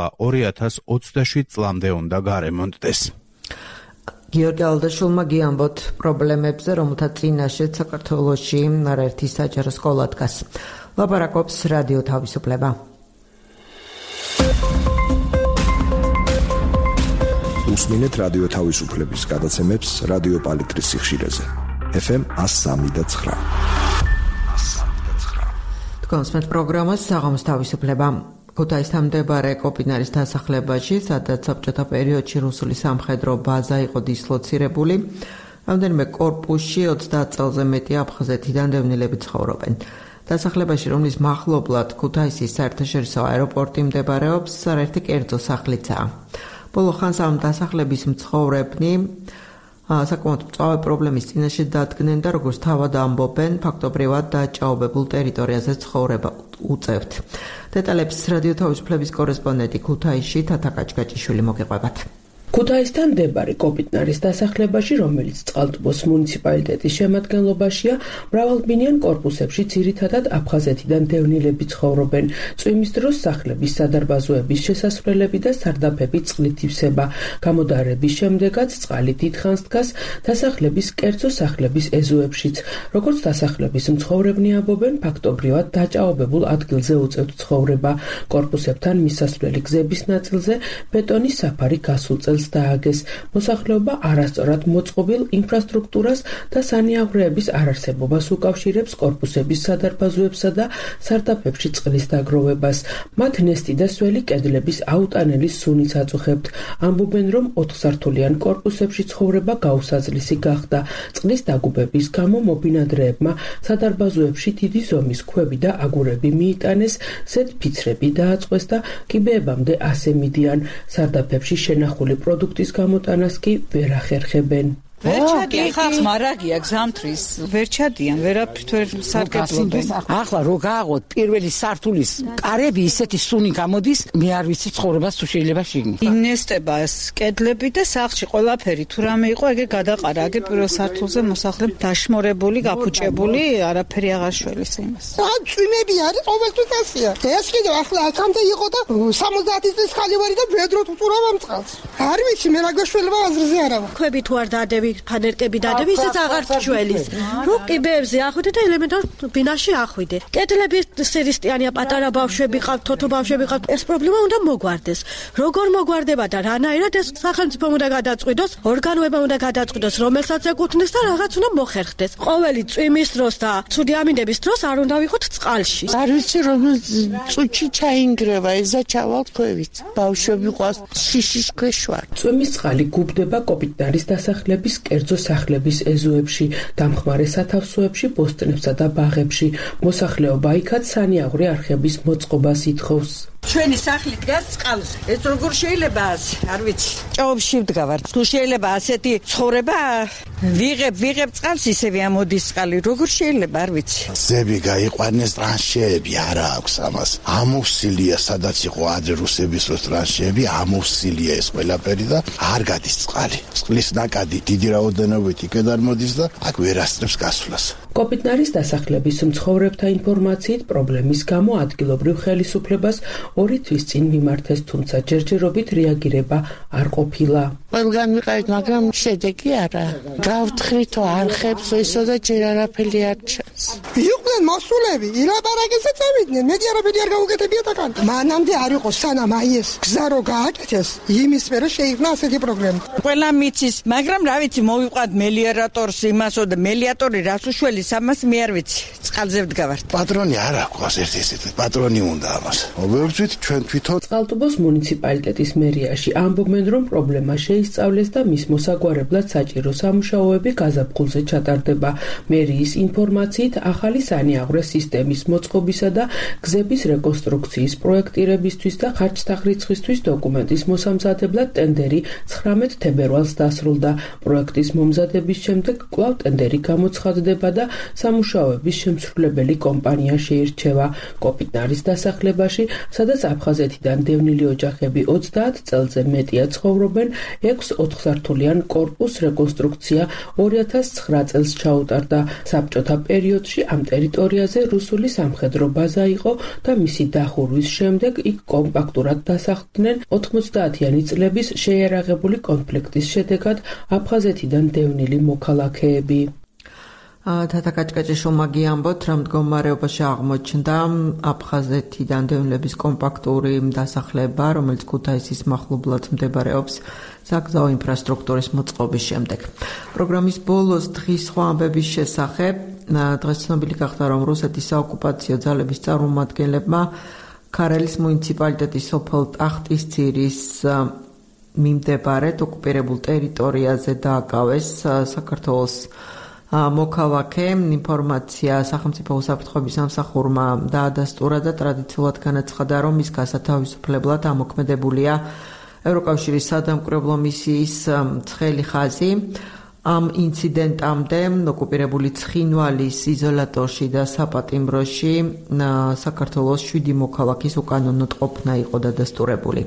2027 წლამდე უნდა გარემონტდეს. გიორგი ალდაშულმა გიამბოთ პრობლემებზე, რომელთა წინაშეც საქართველოში არაერთი საჯარო სკოლა დგას. ლაპარაკობს რადიო თავისუფლება. უსმინეთ რადიო თავისუფლების გადაცემებს რადიო პალიტრის სიხშირეზე. FM 103.9. თქვენს პროგრამას საღამოს თავისუფლება. ქუთაისთან მდებარე კოპინარის დასახლებაში, სადაც საბჭოთა პერიოდში რუსული სამხედრო ბაზა იყო დისლოცირებული, რამდენიმე კორპუსში 30 წელზე მეტი აფხაზეთიდან დევნილები ცხოვრობენ. დასახლებაში, რომლის მახლობლად ქუთაისის საერთაშორისო აეროპორტი მდებარეობს, არაერთი კერძო სახლიცაა. ბოლო ხანს ამ დასახლების მცხოვრებნი საკმაოდ მწვავე პრობლემის წინაშე დადგნენ და როგორც თავად ამბობენ, ფაქტობრივად დაჭაობებულ ტერიტორიაზე ცხოვრება უწევთ. დეტალებს რადიო თავისუფლების კორესპონდენტი ქუთაისში თათა კაჭკაჭიშვილი მოგეყვებათ. ქუთაისთან მდებარე კოპიტნარის დასახლებაში, რომელიც წყალტუბოს მუნიციპალიტეტის შემადგენლობაშია, მრავალბინიან კორპუსებში ძირითადად აფხაზეთიდან დევნილები ცხოვრობენ. წვიმის დროს სახლების სადარბაზოების შესასვლელები და სარდაფები წყლით ივსება. გამოდარების შემდეგაც წყალი დიდხანს დგას დასახლების კერძო სახლების ეზოებშიც. როგორც დასახლების მცხოვრებნი ამბობენ, ფაქტობრივად დაჭაობებულ ადგილზე უწევთ ცხოვრება. კორპუსებთან მისასვლელი გზების ნაწილზე ბეტონის საფარი გასულ წელს წელს დააგეს. მოსახლეობა არასწორად მოწყობილ ინფრასტრუქტურას და სანიაღვრეების არარსებობას უკავშირებს კორპუსების სადარბაზოებსა და სარდაფებში წყლის დაგროვებას. მათ ნესტი და სველი კედლების აუტანელი სუნიც აწუხებთ. ამბობენ, რომ 4-სართულიან კორპუსებში ცხოვრება გაუსაძლისი გახდა. წყლის დაგუბების გამო მობინადრეებმა სადარბაზოებში დიდი ზომის ქვები და აგურები მიიტანეს, ზედფიცრები დააწყვეს და კიბეებამდე ასე მიდიან. სარდაფებში შენახული პროდუქტის გამოტანას კი ვერ ახერხებენ. ვერ ჩადიან ხალხს მარაგია გზამთრის ვერ ჩადიან ვერაფრით ვერ სარგებლობენ. ახლა რო გააღოთ პირველი სართულის კარები ისეთი სუნი გამოდის, მე არ ვიცი ცხოვრებას თუ შეიძლება შიგნით. ინესტება კედლები და სახლში ყველაფერი თუ რამე იყო ეგე გადაყარა. აგე პირველ სართულზე მოსახლე დაშმორებული, გაფუჭებული, არაფერი აღარ შველის იმას. წვიმები არის ყოველთვის ასია. ეს კიდევ ახლა აქამდე იყო და 70 წლის ხალი ვარი და ბედროთ უწურავ ამ წყალს. არ ვიცი მე რა გაშველება აზრზე არა. ქვები თუ არ დადები ფანერკები დადები ისიც აღარ ჩველის. რო კიბეებზე ახვიდე და ელემენტარ ბინაში ახვიდე. კედლები სერისტიანია, პატარა ბავშვები ყავთ, თოთო ბავშვები ყავთ. ეს პრობლემა უნდა მოგვარდეს. როგორ მოგვარდება და რანაირად ეს სახელმწიფომ უნდა გადაწყვიტოს, ორგანოებმა უნდა გადაწყვიტოს, რომელსაც ეკუთვნის და რაღაც უნდა მოხერხდეს. ყოველი წვიმის დროს და ცუდი ამინდების დროს არ უნდა ვიყოთ წყალში. არ ვიცი რომ წუჩი ჩაინგრევა, ეზა ჩავალთ ქვევით. ბავშვები ყავს შიშის ქვეშ ვარ. წვიმის წყალი გუბდება კოპიტნარის დასახლების კერძო სახლების ეზოებში, დამხმარე სათავსოებში, პოსტნებსა და ბაღებში. მოსახლეობა იქაც სანიაღვრე არხების მოწყობას ითხოვს. ჩვენი სახლი დგას წყალზე. ეს როგორ შეიძლება ასე? არ ვიცი. ჭაობში ვდგავართ. თუ შეიძლება ასეთი ცხოვრება ვიღებ წყალს ისევე ამოდის წყალი. როგორ შეიძლება? არ ვიცი. ზები გაიყვანეს ტრანშეები არა აქვს ამას. ამოვსილია სადაც იყო ადრე რუსების დროს ტრანშეები, ამოვსილია ეს ყველაფერი და არ გადის წყალი. წყლის ნაკადი დიდი რაოდენობით იქიდან მოდის და აქ ვერ ასწრებს გასვლას. კოპიტნარის დასახლების მცხოვრებთა ინფორმაციით პრობლემის გამო ადგილობრივ ხელისუფლებას 2 თვის წინ მიმართეს, თუმცა ჯერჯერობით რეაგირება არ ყოფილა. ყველგან ვიყავით, მაგრამ შედეგი არა. გავთხრითო არხებს, ესო და ჯერ არაფერი არ ჩანს. იყვნენ მოსულები, ილაპარაკეს და წავიდნენ. მედი არაფერი არ გაუკეთებიათ აქ. მანამდე არ იყო სანამ აი ეს გზა რო გააკეთეს, იმის მერე შეიქმნა ასეთი პრობლემა. ყველა მიცის, მაგრამ რა ვიცი, მოვიყვანთ მელიორატორს იმასო და მელიატორი რას უშველის ამას მე არ ვიცი. წყალზე ვდგავართ. პატრონი არ აქვს ერთ-ერთი პატრონი უნდა ამას. მოვებრძვით ჩვენ თვითონ. წყალტუბოს მუნიციპალიტეტის მერიაში ამბობენ, რომ პრობლემა შეისწავლეს და მის მოსაგვარებლად საჭირო სამუშაოები გაზაფხულზე ჩატარდება. მერიის ინფორმაციით ახალი სანიაღვრე სისტემის მოწყობისა და გზების რეკონსტრუქციის პროექტირებისთვის და ხარჯთაღრიცხვისთვის დოკუმენტის მოსამზადებლად ტენდერი 19 თებერვალს დასრულდა. პროექტის მომზადების შემდეგ კვლავ ტენდერი გამოცხადდება და სამუშაოების შემსრულებელი კომპანია შეირჩევა. კოპიტნარის დასახლებაში, სადაც აფხაზეთიდან დევნილი ოჯახები 30 წელზე მეტია ცხოვრობენ, 6 4-სართულიან კორპუს რეკონსტრუქცია 2009 წელს ჩაუტარდა. საბჭოთა პერიოდში ამ ტერიტორიაზე რუსული სამხედრო ბაზა იყო და მისი დახურვის შემდეგ იქ კომპაქტურად დასახლდნენ 90-იანი წლების შეიარაღებული კონფლიქტის შედეგად აფხაზეთიდან დევნილი მოქალაქეები. თათაკაჭკაჭი შომაგი ამბობთ, რომ მდგომარეობაში აღმოჩნდა აფხაზეთიდან დევნილების კომპაქტური დასახლება, რომელიც ქუთაისის მახლობლად მდებარეობს საგზაო ინფრასტრუქტურის მოწყობის შემდეგ. პროგრამის ბოლოს დღის სხვა ამბების შესახებ დღეს ცნობილი გახდა, რომ რუსეთის საოკუპაციო ძალების წარმომადგენლებმა ქარელის მუნიციპალიტეტის სოფელ ტახტისძირის მიმდებარედ ოკუპირებულ ტერიტორიაზე დააკავეს საქართველოს მოქალაქე. ინფორმაცია სახელმწიფო უსაფრთხოების სამსახურმა დაადასტურა და ტრადიციულად განაცხადა, რომ ის გასათავისუფლებლად ამოქმედებულია ევროკავშირის სადამკვირვებლო მისიის ცხელი ხაზი. ამ ინციდენტამდე ოკუპირებული ცხინვალის იზოლატორში და საპატიმროში საქართველოს 7 მოქალაქის უკანონოდ ყოფნა იყო დადასტურებული.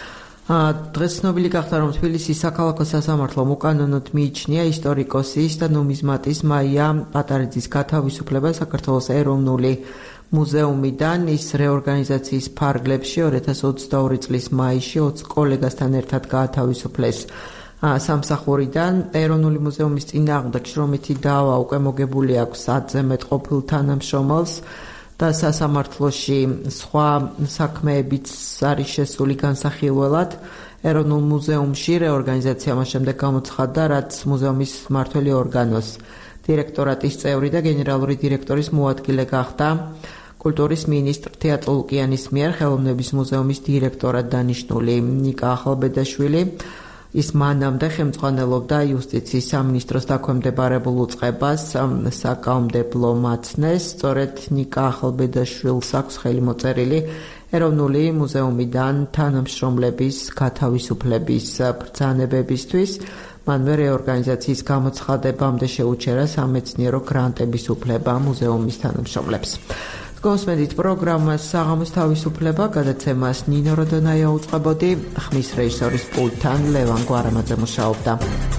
დღეს ცნობილი გახდა, რომ თბილისის საქალაქო სასამართლომ უკანონოდ მიიჩნია ისტორიკოსის და ნუმიზმატის მაია პატარიძის გათავისუფლება საქართველოს ეროვნული მუზეუმიდან. ის რეორგანიზაციის ფარგლებში 2022 წლის მაისში 20 კოლეგასთან ერთად გაათავისუფლეს სამსახურიდან. ეროვნული მუზეუმის წინააღმდეგ შრომითი დავა უკვე მოგებული აქვს 10-ზე მეტ ყოფილ თანამშრომელს და სასამართლოში სხვა საქმეებიც არის შესული განსახილველად. ეროვნულ მუზეუმში რეორგანიზაცია მას შემდეგ გამოცხადდა, რაც მუზეუმის მმართველი ორგანოს დირექტორატის წევრი და გენერალური დირექტორის მოადგილე გახდა. კულტურის მინისტრ თეატრო ლუკიანის მიერ ხელოვნების მუზეუმის დირექტორად დანიშნული ნიკა ახალბედაშვილი ის მანამდე ხელმძღვანელობდა იუსტიციის სამინისტროს დაქვემდებარებულ უწყებას საკანონმდებლო მაცნეს. სწორედ ნიკა ახალბედაშვილს აქვს ხელი მოწერილი ეროვნული მუზეუმიდან თანამშრომლების გათავისუფლების ბრძანებებისთვის. მანვე რეორგანიზაციის გამოცხადებამდე შეუჩერა სამეცნიერო გრანტების უფლება მუზეუმის თანამშრომლებს. გოსმედით პროგრამას საღამოს თავისუფლება გადაცემას ნინო როდონაია უწყებოდი, ხმის რეჟისორის პულტთან ლევან გვარამაძე მუშაობდა.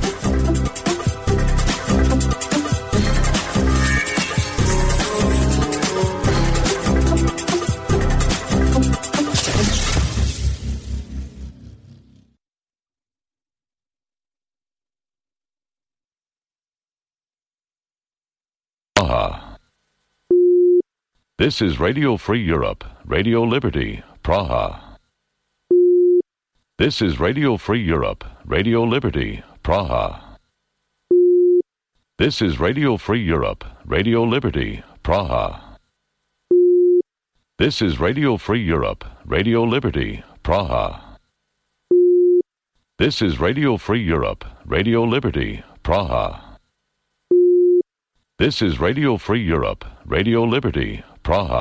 This is Radio Free Europe, Radio Liberty, Praha. This is Radio Free Europe, Radio Liberty, Praha. This is Radio Free Europe, Radio Liberty, Praha. This is Radio Free Europe, Radio Liberty, Praha. This is Radio Free Europe, Radio Liberty, Praha. This is Radio Free Europe, Radio Liberty, Praha.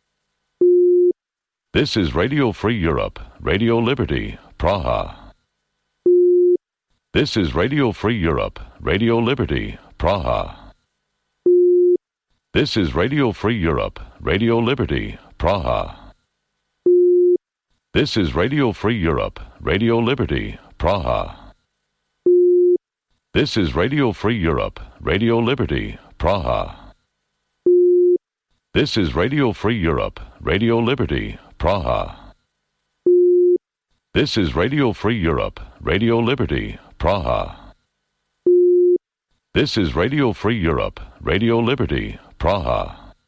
This is Radio Free Europe, Radio Liberty, Praha. This is Radio Free Europe, Radio Liberty, Praha. This is Radio Free Europe, Radio Liberty, Praha. This is Radio Free Europe, Radio Liberty, Praha. This is Radio Free Europe, Radio Liberty, Praha. This is Radio Free Europe, Radio Liberty, Praha. This is Radio Free Europe, Radio Liberty, Praha. This is Radio Free Europe, Radio Liberty, Praha.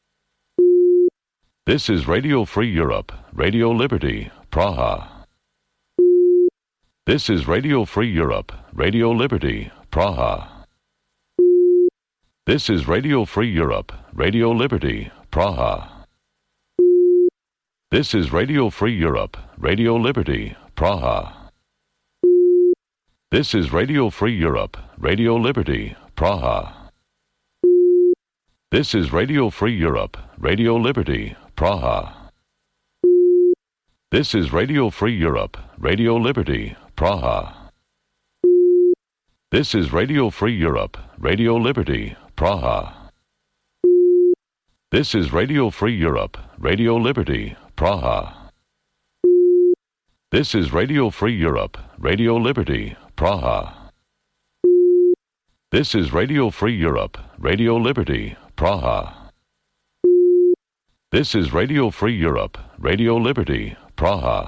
This is Radio Free Europe, Radio Liberty, Praha. This is Radio Free Europe, Radio Liberty, Praha. This is Radio Free Europe, Radio Liberty, Praha. This is Radio Free Europe, Radio Liberty, Praha. This is Radio Free Europe, Radio Liberty, Praha. This is Radio Free Europe, Radio Liberty, Praha. This is Radio Free Europe, Radio Liberty, Praha. This is Radio Free Europe, Radio Liberty, Praha. This is Radio Free Europe, Radio Liberty, Praha. This is Radio Free Europe, Radio Liberty, Praha. This is Radio Free Europe, Radio Liberty, Praha. This is Radio Free Europe, Radio Liberty, Praha.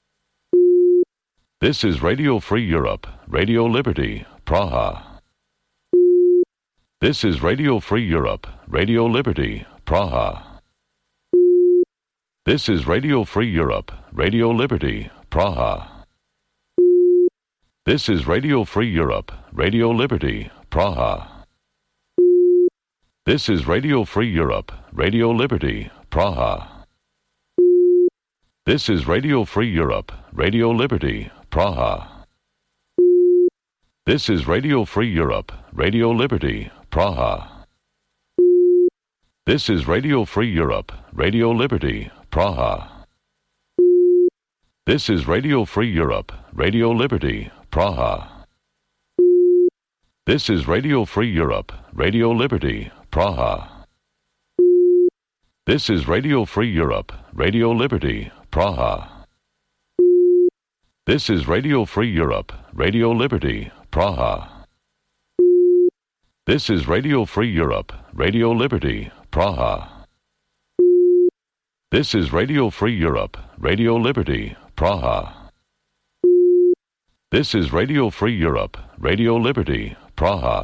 This is Radio Free Europe, Radio Liberty, Praha. This is Radio Free Europe, Radio Liberty, Praha. This is Radio Free Europe, Radio Liberty, Praha. This is Radio Free Europe, Radio Liberty, Praha. This is Radio Free Europe, Radio Liberty, Praha. This is Radio Free Europe, Radio Liberty, Praha. This is Radio Free Europe, Radio Liberty, Praha. This is Radio Free Europe, Radio Liberty, Praha. This is Radio Free Europe, Radio Liberty, Praha. This is Radio Free Europe, Radio Liberty, Praha. This is Radio Free Europe, Radio Liberty, Praha. This is Radio Free Europe, Radio Liberty, Praha. This is Radio Free Europe, Radio Liberty, Praha. This is Radio Free Europe, Radio Liberty, Praha. This is Radio Free Europe, Radio Liberty, Praha.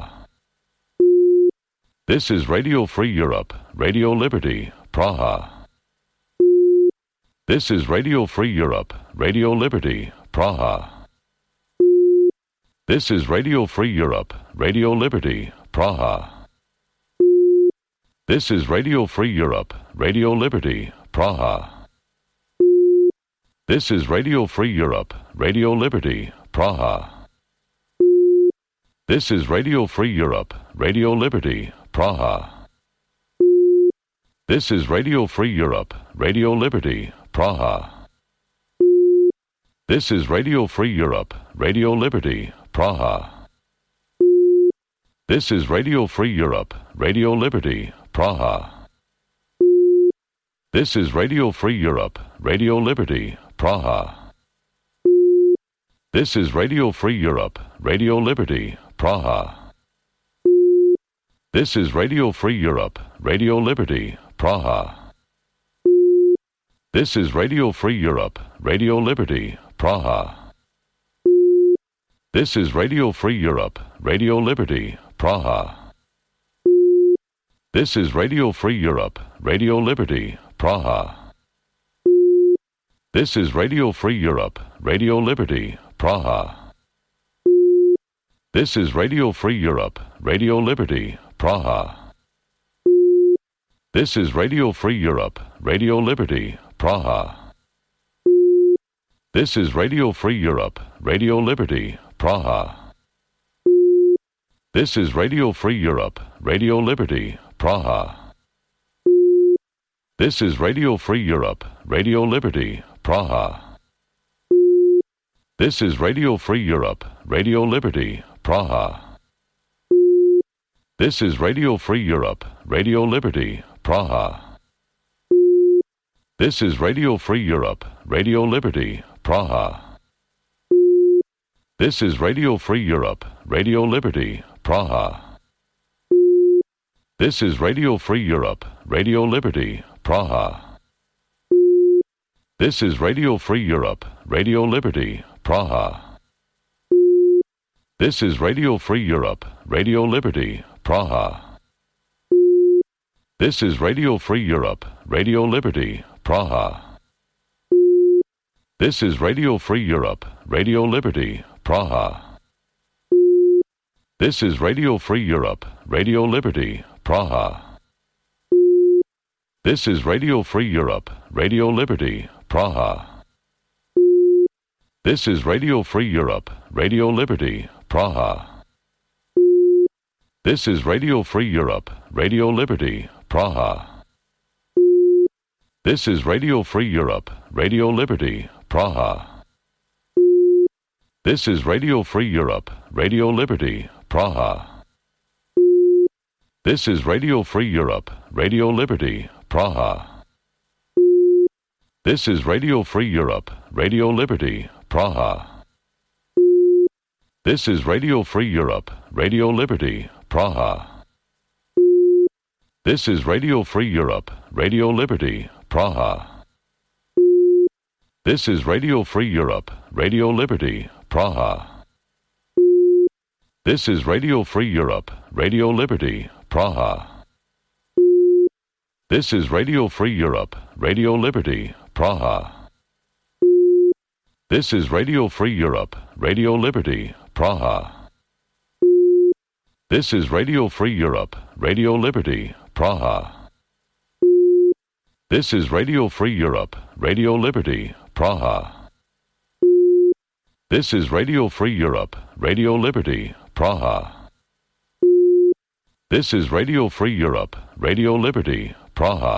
This is Radio Free Europe, Radio Liberty, Praha. This is Radio Free Europe, Radio Liberty, Praha. This is Radio Free Europe, Radio Liberty, Praha. This is Radio Free Europe, Radio Liberty, Praha. This is Radio Free Europe, Radio Liberty, Praha. This is Radio Free Europe, Radio Liberty, Praha. This is Radio Free Europe, Radio Liberty, Praha. This is Radio Free Europe, Radio Liberty, Praha. This is Radio Free Europe, Radio Liberty, Praha. This is Radio Free Europe, Radio Liberty, Praha. This is Radio Free Europe, Radio Liberty, Praha. This is Radio Free Europe, Radio Liberty, Praha. This is Radio Free Europe, Radio Liberty, Praha. This is Radio Free Europe, Radio Liberty, Praha. This is Radio Free Europe, Radio Liberty, Praha. This is Radio Free Europe, Radio Liberty, Praha. This is Radio Free Europe, Radio Liberty, Praha. This is Radio Free Europe, Radio Liberty, Praha. This is Radio Free Europe, Radio Liberty, Praha. This is Radio Free Europe, Radio Liberty, Praha. This is Radio Free Europe, Radio Liberty, Praha. This is Radio Free Europe, Radio Liberty, Praha. This is Radio Free Europe, Radio Liberty, Praha. This is Radio Free Europe, Radio Liberty, Praha. This is Radio Free Europe, Radio Liberty, Praha. This is Radio Free Europe, Radio Liberty, Praha. This is Radio Free Europe, Radio Liberty, Praha. This is Radio Free Europe, Radio Liberty, Praha. This is Radio Free Europe, Radio Liberty, Praha. This is Radio Free Europe, Radio Liberty, Praha. This is Radio Free Europe, Radio Liberty, Praha. This is Radio Free Europe, Radio Liberty, Praha. This is Radio Free Europe, Radio Liberty, Praha. This is Radio Free Europe, Radio Liberty, Praha. This is Radio Free Europe, Radio Liberty, Praha. This is Radio Free Europe, Radio Liberty, Praha. This is Radio Free Europe, Radio Liberty, Praha. This is Radio Free Europe, Radio Liberty, Praha. This is Radio Free Europe, Radio Liberty, Praha. This is Radio Free Europe, Radio Liberty, Praha. This is Radio Free Europe, Radio Liberty, Praha. This is Radio Free Europe, Radio Liberty, Praha. This is Radio Free Europe, Radio Liberty, Praha. This is Radio Free Europe, Radio Liberty, Praha. This is Radio Free Europe, Radio Liberty, Praha. This is Radio Free Europe, Radio Liberty, Praha. This is Radio Free Europe, Radio Liberty, Praha. This is Radio Free Europe, Radio Liberty, Praha.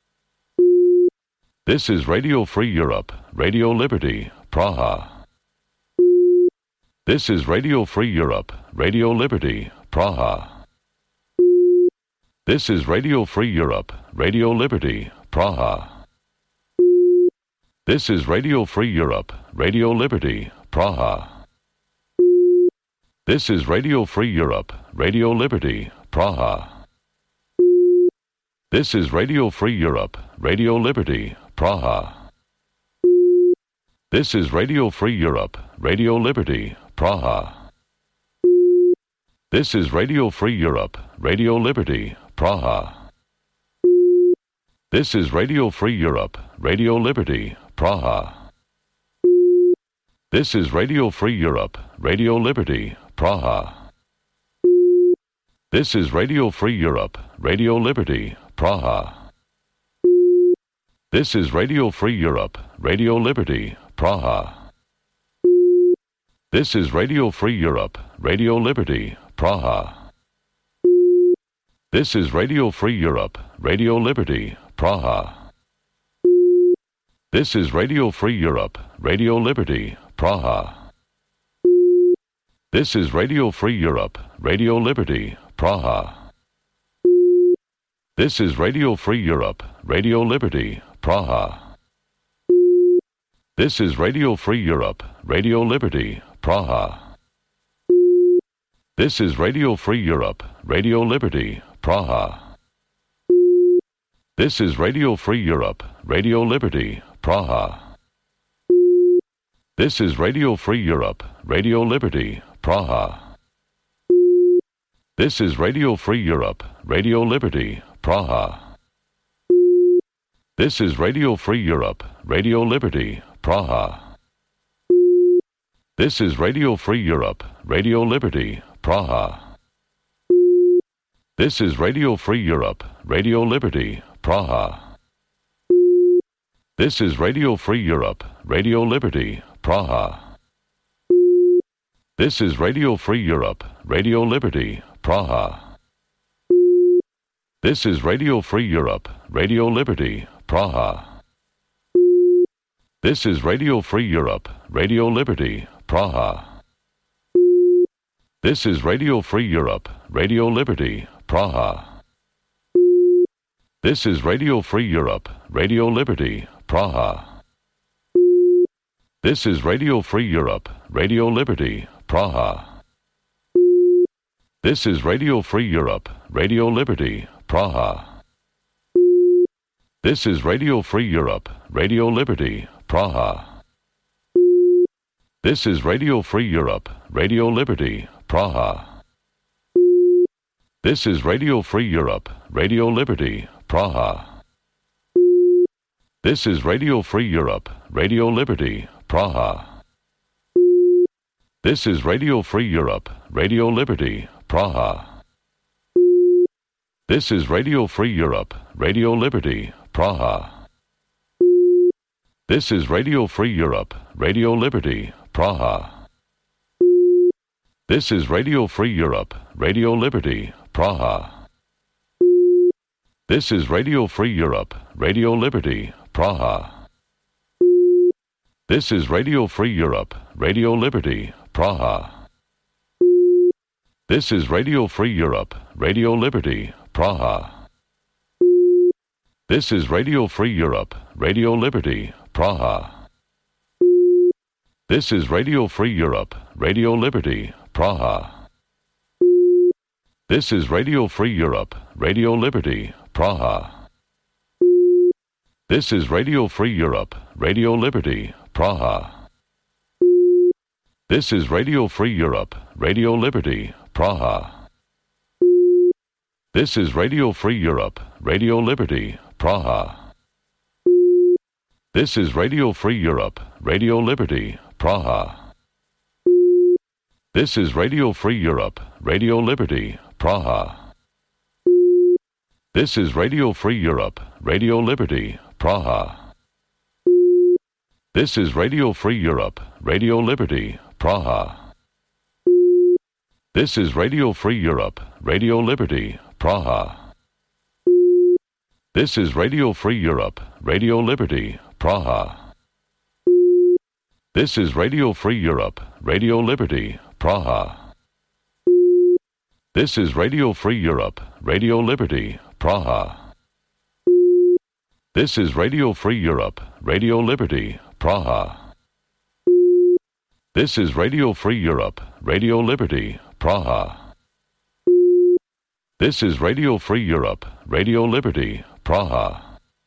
This is Radio Free Europe, Radio Liberty, Praha. This is Radio Free Europe, Radio Liberty, Praha. This is Radio Free Europe, Radio Liberty, Praha. This is Radio Free Europe, Radio Liberty, Praha. This is Radio Free Europe, Radio Liberty, Praha. This is Radio Free Europe, Radio Liberty, Praha. This is Radio Free Europe, Radio Liberty, Praha. This is Radio Free Europe, Radio Liberty, Praha. This is Radio Free Europe, Radio Liberty, Praha. This is Radio Free Europe, Radio Liberty, Praha. This is Radio Free Europe, Radio Liberty, Praha. This is Radio Free Europe, Radio Liberty, Praha. This is Radio Free Europe, Radio Liberty, Praha. This is Radio Free Europe, Radio Liberty, Praha. This is Radio Free Europe, Radio Liberty, Praha. This is Radio Free Europe, Radio Liberty, Praha. This is Radio Free Europe, Radio Liberty, Praha. This is Radio Free Europe, Radio Liberty, Praha. This is Radio Free Europe, Radio Liberty, Praha. This is Radio Free Europe, Radio Liberty, Praha. This is Radio Free Europe, Radio Liberty, Praha. This is Radio Free Europe, Radio Liberty, Praha. This is Radio Free Europe, Radio Liberty, Praha. This is Radio Free Europe, Radio Liberty, Praha. This is Radio Free Europe, Radio Liberty, Praha. This is Radio Free Europe, Radio Liberty, Praha. This is Radio Free Europe, Radio Liberty, Praha. This is Radio Free Europe, Radio Liberty, Praha. This is Radio Free Europe, Radio Liberty, Praha. This is Radio Free Europe, Radio Liberty, Praha. This is Radio Free Europe, Radio Liberty, Praha. This is Radio Free Europe, Radio Liberty, Praha. This is Radio Free Europe, Radio Liberty, Praha. This is Radio Free Europe, Radio Liberty, Praha. This is Radio Free Europe, Radio Liberty, Praha. This is Radio Free Europe, Radio Liberty, Praha. This is Radio Free Europe, Radio Liberty, Praha. This is Radio Free Europe, Radio Liberty, Praha. This is Radio Free Europe, Radio Liberty, Praha. This is Radio Free Europe, Radio Liberty, Praha. This is Radio Free Europe, Radio Liberty, Praha. This is Radio Free Europe, Radio Liberty, Praha. This is Radio Free Europe, Radio Liberty, Praha. This is Radio Free Europe, Radio Liberty, Praha. This is Radio Free Europe, Radio Liberty, Praha. This is Radio Free Europe, Radio Liberty, Praha. This is Radio Free Europe, Radio Liberty, Praha. This is Radio Free Europe, Radio Liberty, Praha. This is Radio Free Europe, Radio Liberty, Praha. This is Radio Free Europe, Radio Liberty, Praha. This is Radio Free Europe, Radio Liberty, Praha. This is Radio Free Europe, Radio Liberty, Praha. This is Radio Free Europe, Radio Liberty, Praha. This is Radio Free Europe, Radio Liberty, Praha. This is Radio Free Europe, Radio Liberty, Praha. This is Radio Free Europe, Radio Liberty, Praha. This is Radio Free Europe, Radio Liberty, Praha. This is Radio Free Europe, Radio Liberty, Praha. This is Radio Free Europe, Radio Liberty, Praha. This is Radio Free Europe, Radio Liberty, Praha. This is Radio Free Europe, Radio Liberty, Praha.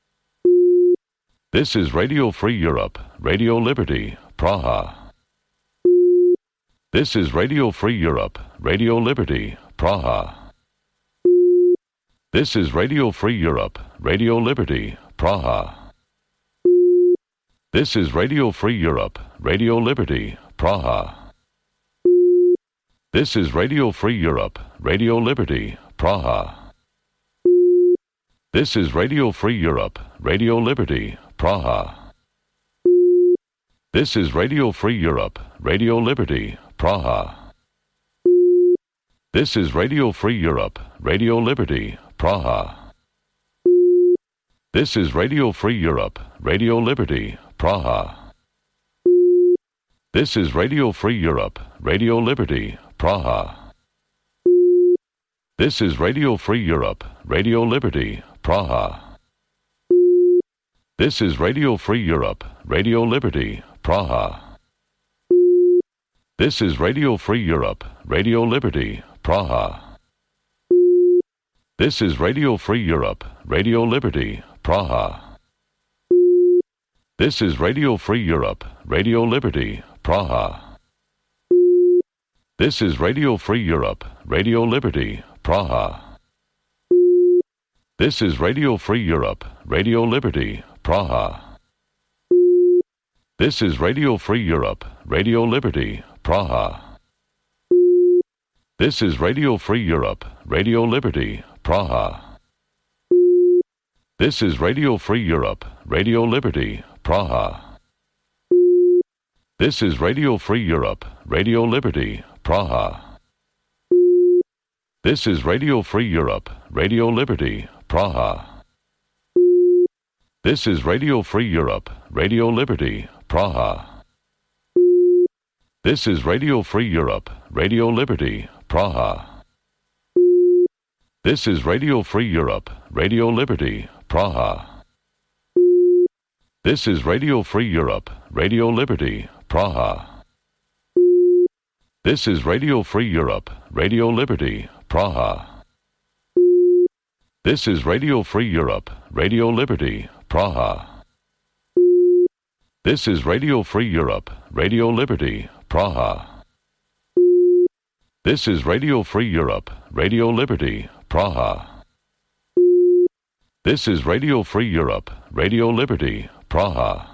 This is Radio Free Europe, Radio Liberty, Praha. This is Radio Free Europe, Radio Liberty, Praha. This is Radio Free Europe, Radio Liberty, Praha. This is Radio Free Europe, Radio Liberty, Praha. This is Radio Free Europe, Radio Liberty, Praha. This is Radio Free Europe, Radio Liberty, Praha. This is Radio Free Europe, Radio Liberty, Praha. This is Radio Free Europe, Radio Liberty, Praha. This is Radio Free Europe, Radio Liberty, Praha. This is Radio Free Europe, Radio Liberty, Praha. This is Radio Free Europe, Radio Liberty, Praha. This is Radio Free Europe, Radio Liberty, Praha. This is Radio Free Europe, Radio Liberty, Praha. This is Radio Free Europe, Radio Liberty, Praha. This is Radio Free Europe, Radio Liberty, Praha. This is Radio Free Europe, Radio Liberty, Praha. This is Radio Free Europe, Radio Liberty, Praha. This is Radio Free Europe, Radio Liberty, Praha. This is Radio Free Europe, Radio Liberty, Praha. This is Radio Free Europe, Radio Liberty, Praha. This is Radio Free Europe, Radio Liberty, Praha. This is Radio Free Europe, Radio Liberty, Praha. This is Radio Free Europe, Radio Liberty, Praha. This is Radio Free Europe, Radio Liberty, Praha. This is Radio Free Europe, Radio Liberty, Praha. This is Radio Free Europe, Radio Liberty, Praha. This is Radio Free Europe, Radio Liberty, Praha. This is Radio Free Europe, Radio Liberty, Praha. This is Radio Free Europe, Radio Liberty, Praha. This is Radio Free Europe, Radio Liberty, Praha. This is Radio Free Europe, Radio Liberty, Praha.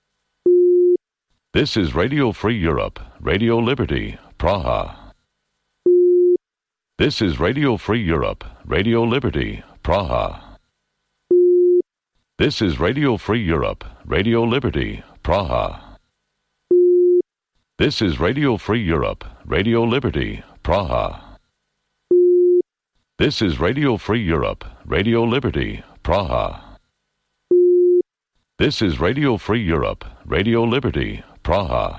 This is Radio Free Europe, Radio Liberty, Praha. This is Radio Free Europe, Radio Liberty, Praha. This is Radio Free Europe, Radio Liberty, Praha. This is Radio Free Europe, Radio Liberty, Praha. This is Radio Free Europe, Radio Liberty, Praha. This is Radio Free Europe, Radio Liberty, Praha.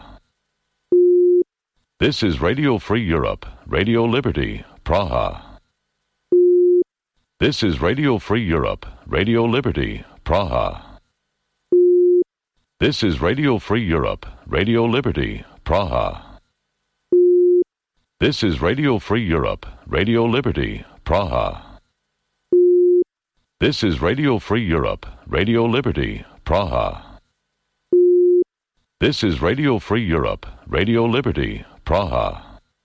This is Radio Free Europe, Radio Liberty, Praha. This is Radio Free Europe, Radio Liberty, Praha. This is Radio Free Europe, Radio Liberty, Praha. This is Radio Free Europe, Radio Liberty, Praha. This is Radio Free Europe, Radio Liberty, Praha. This is Radio Free Europe, Radio Liberty, Praha.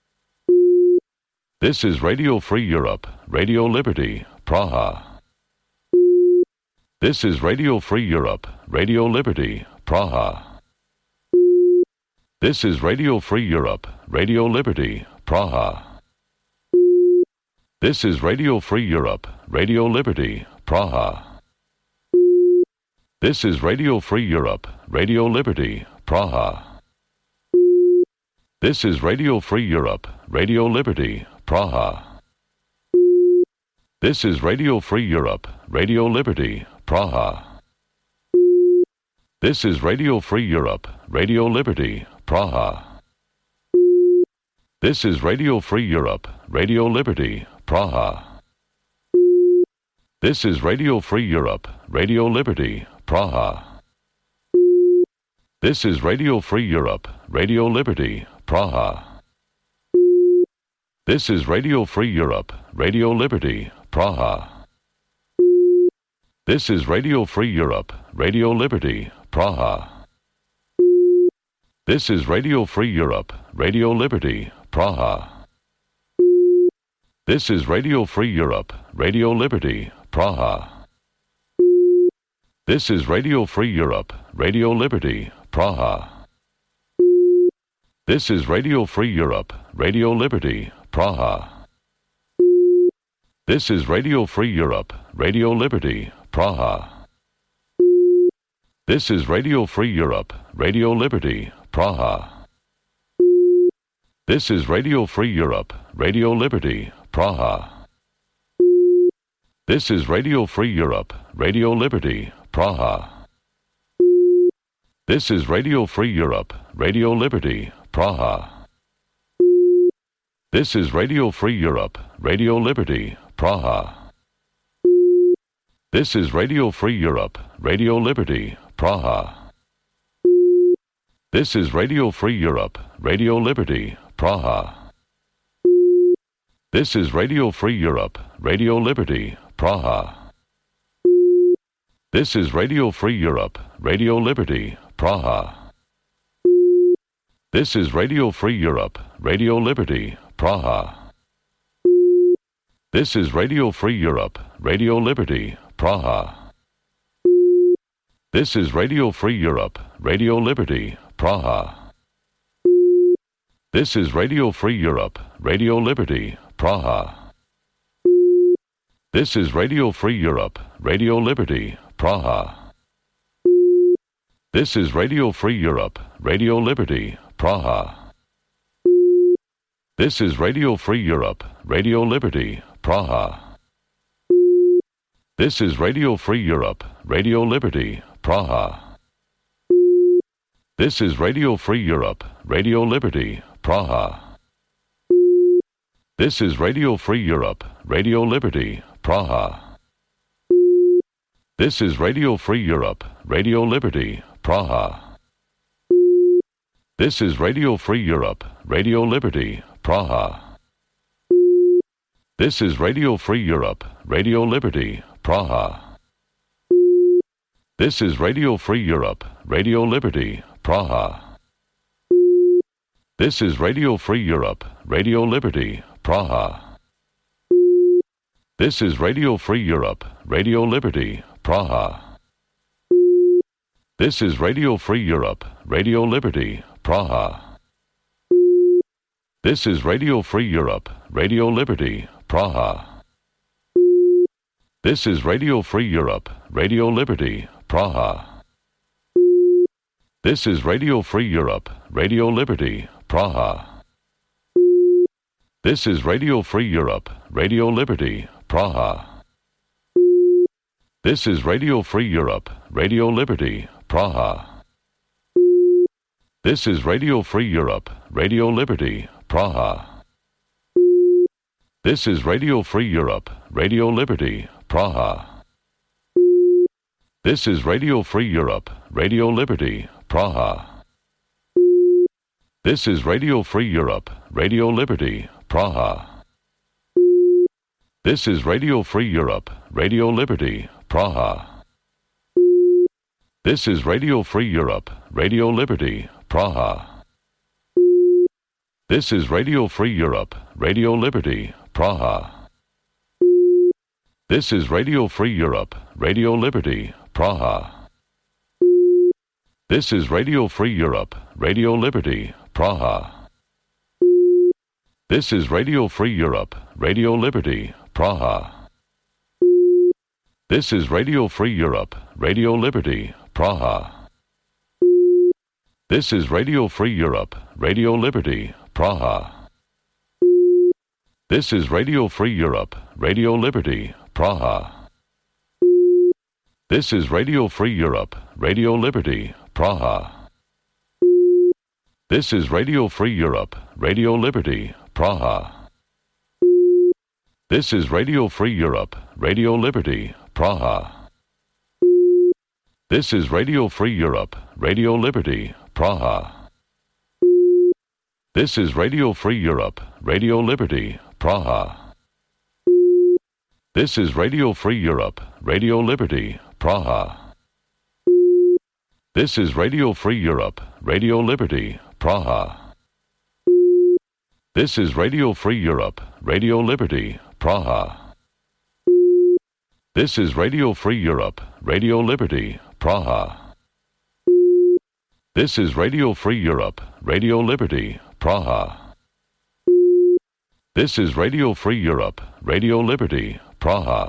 This is Radio Free Europe, Radio Liberty, Praha. This is Radio Free Europe, Radio Liberty, Praha. This is Radio Free Europe, Radio Liberty, Praha. This is Radio Free Europe, Radio Liberty, Praha. This is Radio Free Europe, Radio Liberty, Praha. This is Radio Free Europe, Radio Liberty, Praha. This is Radio Free Europe, Radio Liberty, Praha. This is Radio Free Europe, Radio Liberty, Praha. This is Radio Free Europe, Radio Liberty, Praha. This is Radio Free Europe, Radio Liberty, Praha. This is Radio Free Europe, Radio Liberty, Praha. This is Radio Free Europe, Radio Liberty, Praha. This is Radio Free Europe, Radio Liberty, Praha. This is Radio Free Europe, Radio Liberty, Praha. This is Radio Free Europe, Radio Liberty, Praha. This is Radio Free Europe, Radio Liberty, Praha. This is Radio Free Europe, Radio Liberty, Praha. This is Radio Free Europe, Radio Liberty, Praha. This is Radio Free Europe, Radio Liberty, Praha. This is Radio Free Europe, Radio Liberty, Praha. This is Radio Free Europe, Radio Liberty, Praha. This is Radio Free Europe, Radio Liberty, Praha. This is Radio Free Europe, Radio Liberty, Praha. This is Radio Free Europe, Radio Liberty, Praha. This is Radio Free Europe, Radio Liberty, Praha. This is Radio Free Europe, Radio Liberty, Praha. This is Radio Free Europe, Radio Liberty, Praha. This is Radio Free Europe, Radio Liberty, Praha. This is Radio Free Europe, Radio Liberty, Praha. This is Radio Free Europe, Radio Liberty, Praha. This is Radio Free Europe, Radio Liberty, Praha. This is Radio Free Europe, Radio Liberty, Praha. This is Radio Free Europe, Radio Liberty, Praha. This is Radio Free Europe, Radio Liberty, Praha. This is Radio Free Europe, Radio Liberty, Praha. This is Radio Free Europe, Radio Liberty, Praha. This is Radio Free Europe, Radio Liberty, Praha. This is Radio Free Europe, Radio Liberty, Praha. This is Radio Free Europe, Radio Liberty, Praha. This is Radio Free Europe, Radio Liberty, Praha. This is Radio Free Europe, Radio Liberty, Praha. This is Radio Free Europe, Radio Liberty, Praha. This is Radio Free Europe, Radio Liberty, Praha. This is Radio Free Europe, Radio Liberty, Praha. This is Radio Free Europe, Radio Liberty, Praha. This is Radio Free Europe, Radio Liberty, Praha. This is Radio Free Europe, Radio Liberty, Praha. This is Radio Free Europe, Radio Liberty, Praha. This is Radio Free Europe, Radio Liberty, Praha. This is Radio Free Europe, Radio Liberty, Praha. This is Radio Free Europe, Radio Liberty, Praha. This is Radio Free Europe, Radio Liberty, Praha. This is Radio Free Europe, Radio Liberty, Praha. This is Radio Free Europe, Radio Liberty, Praha. This is Radio Free Europe, Radio Liberty, Praha. This is Radio Free Europe, Radio Liberty, Praha. This is Radio Free Europe, Radio Liberty, Praha. This is Radio Free Europe, Radio Liberty, Praha. This is Radio Free Europe, Radio Liberty, Praha. This is Radio Free Europe, Radio Liberty, Praha. This is Radio Free Europe, Radio Liberty, Praha. This is Radio Free Europe, Radio Liberty, Praha. This is Radio Free Europe, Radio Liberty, Praha. This is Radio Free Europe, Radio Liberty, Praha. This is Radio Free Europe, Radio Liberty, Praha. This is Radio Free Europe, Radio Liberty, Praha. This is Radio Free Europe, Radio Liberty, Praha. This is Radio Free Europe, Radio Liberty, Praha. This is Radio Free Europe, Radio Liberty, Praha. This is Radio Free Europe, Radio Liberty, Praha. This is Radio Free Europe, Radio Liberty, Praha. This is Radio Free Europe, Radio Liberty, Praha. This is Radio Free Europe, Radio Liberty, Praha.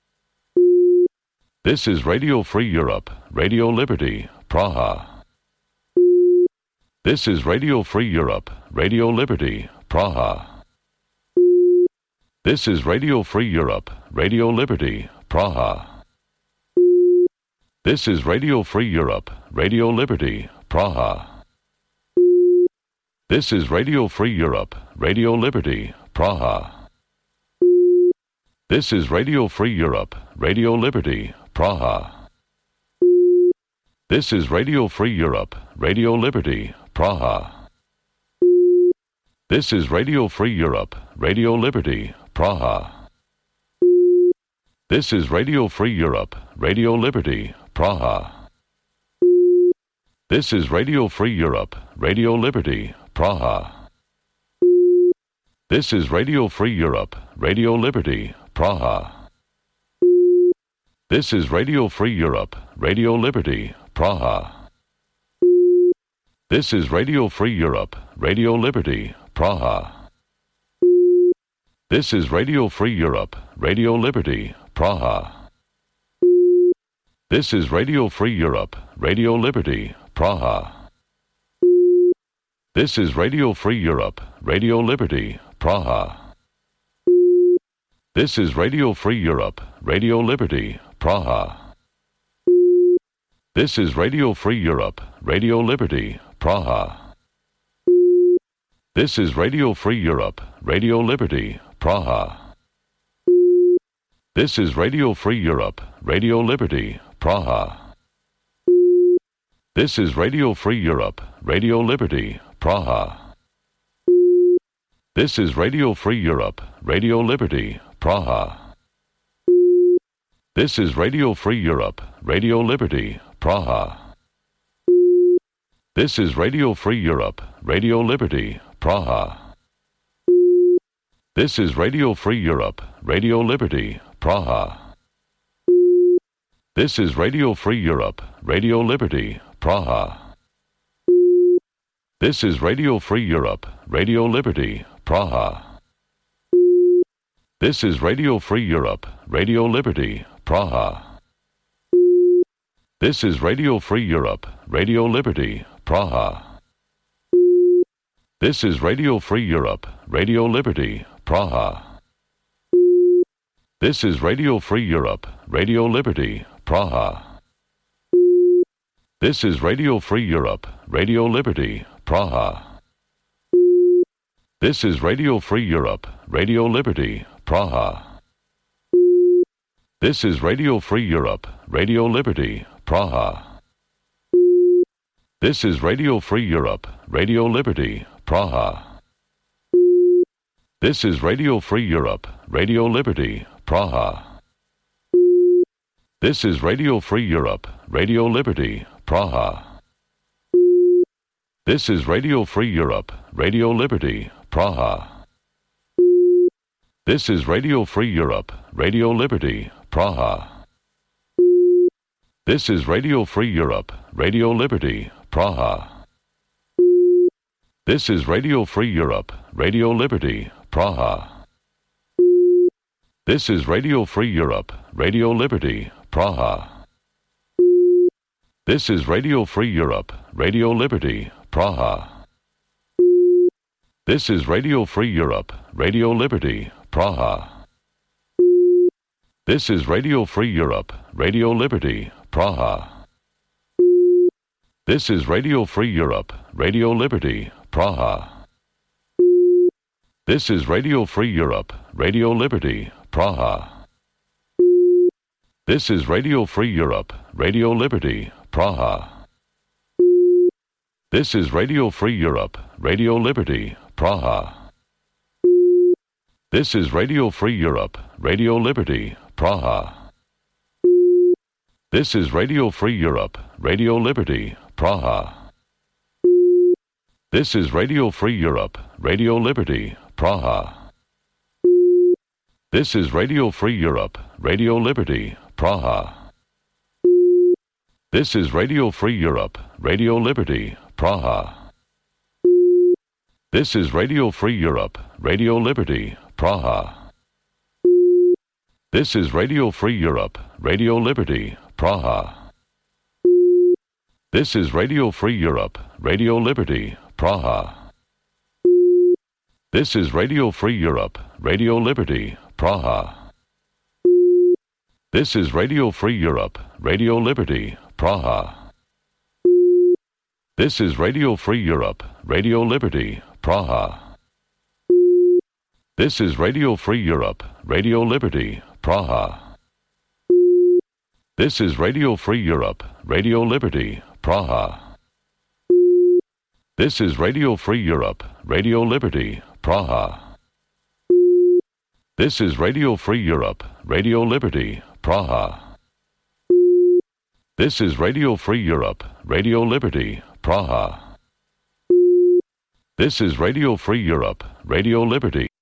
This is Radio Free Europe, Radio Liberty, Praha. This is Radio Free Europe, Radio Liberty, Praha. This is Radio Free Europe, Radio Liberty, Praha. This is Radio Free Europe, Radio Liberty, Praha. This is Radio Free Europe, Radio Liberty, Praha. This is Radio Free Europe, Radio Liberty, Praha. This is Radio Free Europe, Radio Liberty, Praha. This is Radio Free Europe, Radio Liberty, Praha. This is Radio Free Europe, Radio Liberty, Praha. This is Radio Free Europe, Radio Liberty, Praha. This is Radio Free Europe, Radio Liberty, Praha. This is Radio Free Europe, Radio Liberty, Praha. This is Radio Free Europe, Radio Liberty, Praha. This is Radio Free Europe, Radio Liberty, Praha. This is Radio Free Europe, Radio Liberty, Praha. This is Radio Free Europe, Radio Liberty, Praha. This is Radio Free Europe, Radio Liberty, Praha. This is Radio Free Europe, Radio Liberty, Praha. This is Radio Free Europe, Radio Liberty, Praha. This is Radio Free Europe, Radio Liberty, Praha. This is Radio Free Europe, Radio Liberty, Praha. This is Radio Free Europe, Radio Liberty, Praha. This is Radio Free Europe, Radio Liberty, Praha. This is Radio Free Europe, Radio Liberty, Praha. This is Radio Free Europe, Radio Liberty, Praha. This is Radio Free Europe, Radio Liberty, Praha. This is Radio Free Europe, Radio Liberty, Praha. This is Radio Free Europe, Radio Liberty, Praha. This is Radio Free Europe, Radio Liberty, Praha. This is Radio Free Europe, Radio Liberty, Praha. This is Radio Free Europe, Radio Liberty, Praha. This is Radio Free Europe, Radio Liberty, Praha. This is Radio Free Europe, Radio Liberty, Praha. This is Radio Free Europe, Radio Liberty, Praha. This is Radio Free Europe, Radio Liberty, Praha. This is Radio Free Europe, Radio Liberty, Praha. This is Radio Free Europe, Radio Liberty, Praha. This is Radio Free Europe, Radio Liberty, Praha. This is Radio Free Europe, Radio Liberty, Praha. This is Radio Free Europe, Radio Liberty, Praha. This is Radio Free Europe, Radio Liberty, Praha. This is Radio Free Europe, Radio Liberty, Praha. This is Radio Free Europe, Radio Liberty, Praha. This is Radio Free Europe, Radio Liberty, Praha. This is Radio Free Europe, Radio Liberty, Praha. This is Radio Free Europe, Radio Liberty, Praha. This is Radio Free Europe, Radio Liberty, Praha. This is Radio Free Europe, Radio Liberty, Praha. This is Radio Free Europe, Radio Liberty, Praha. This is Radio Free Europe, Radio Liberty, Praha. This is Radio Free Europe, Radio Liberty, Praha. This is Radio Free Europe, Radio Liberty, Praha. This is Radio Free Europe, Radio Liberty, Praha. This is Radio Free Europe, Radio Liberty, Praha. This is Radio Free Europe, Radio Liberty, Praha. This is Radio Free Europe, Radio Liberty, Praha. This is Radio Free Europe, Radio Liberty, Praha. This is Radio Free Europe, Radio Liberty, Praha. This is Radio Free Europe, Radio Liberty, Praha. This is Radio Free Europe, Radio Liberty, Praha. This is Radio Free Europe, Radio Liberty, Praha. This is Radio Free Europe, Radio Liberty, Praha. This is Radio Free Europe, Radio Liberty, Praha. This is Radio Free Europe, Radio Liberty, Praha. This is Radio Free Europe, Radio Liberty, Praha. This is Radio Free Europe, Radio Liberty.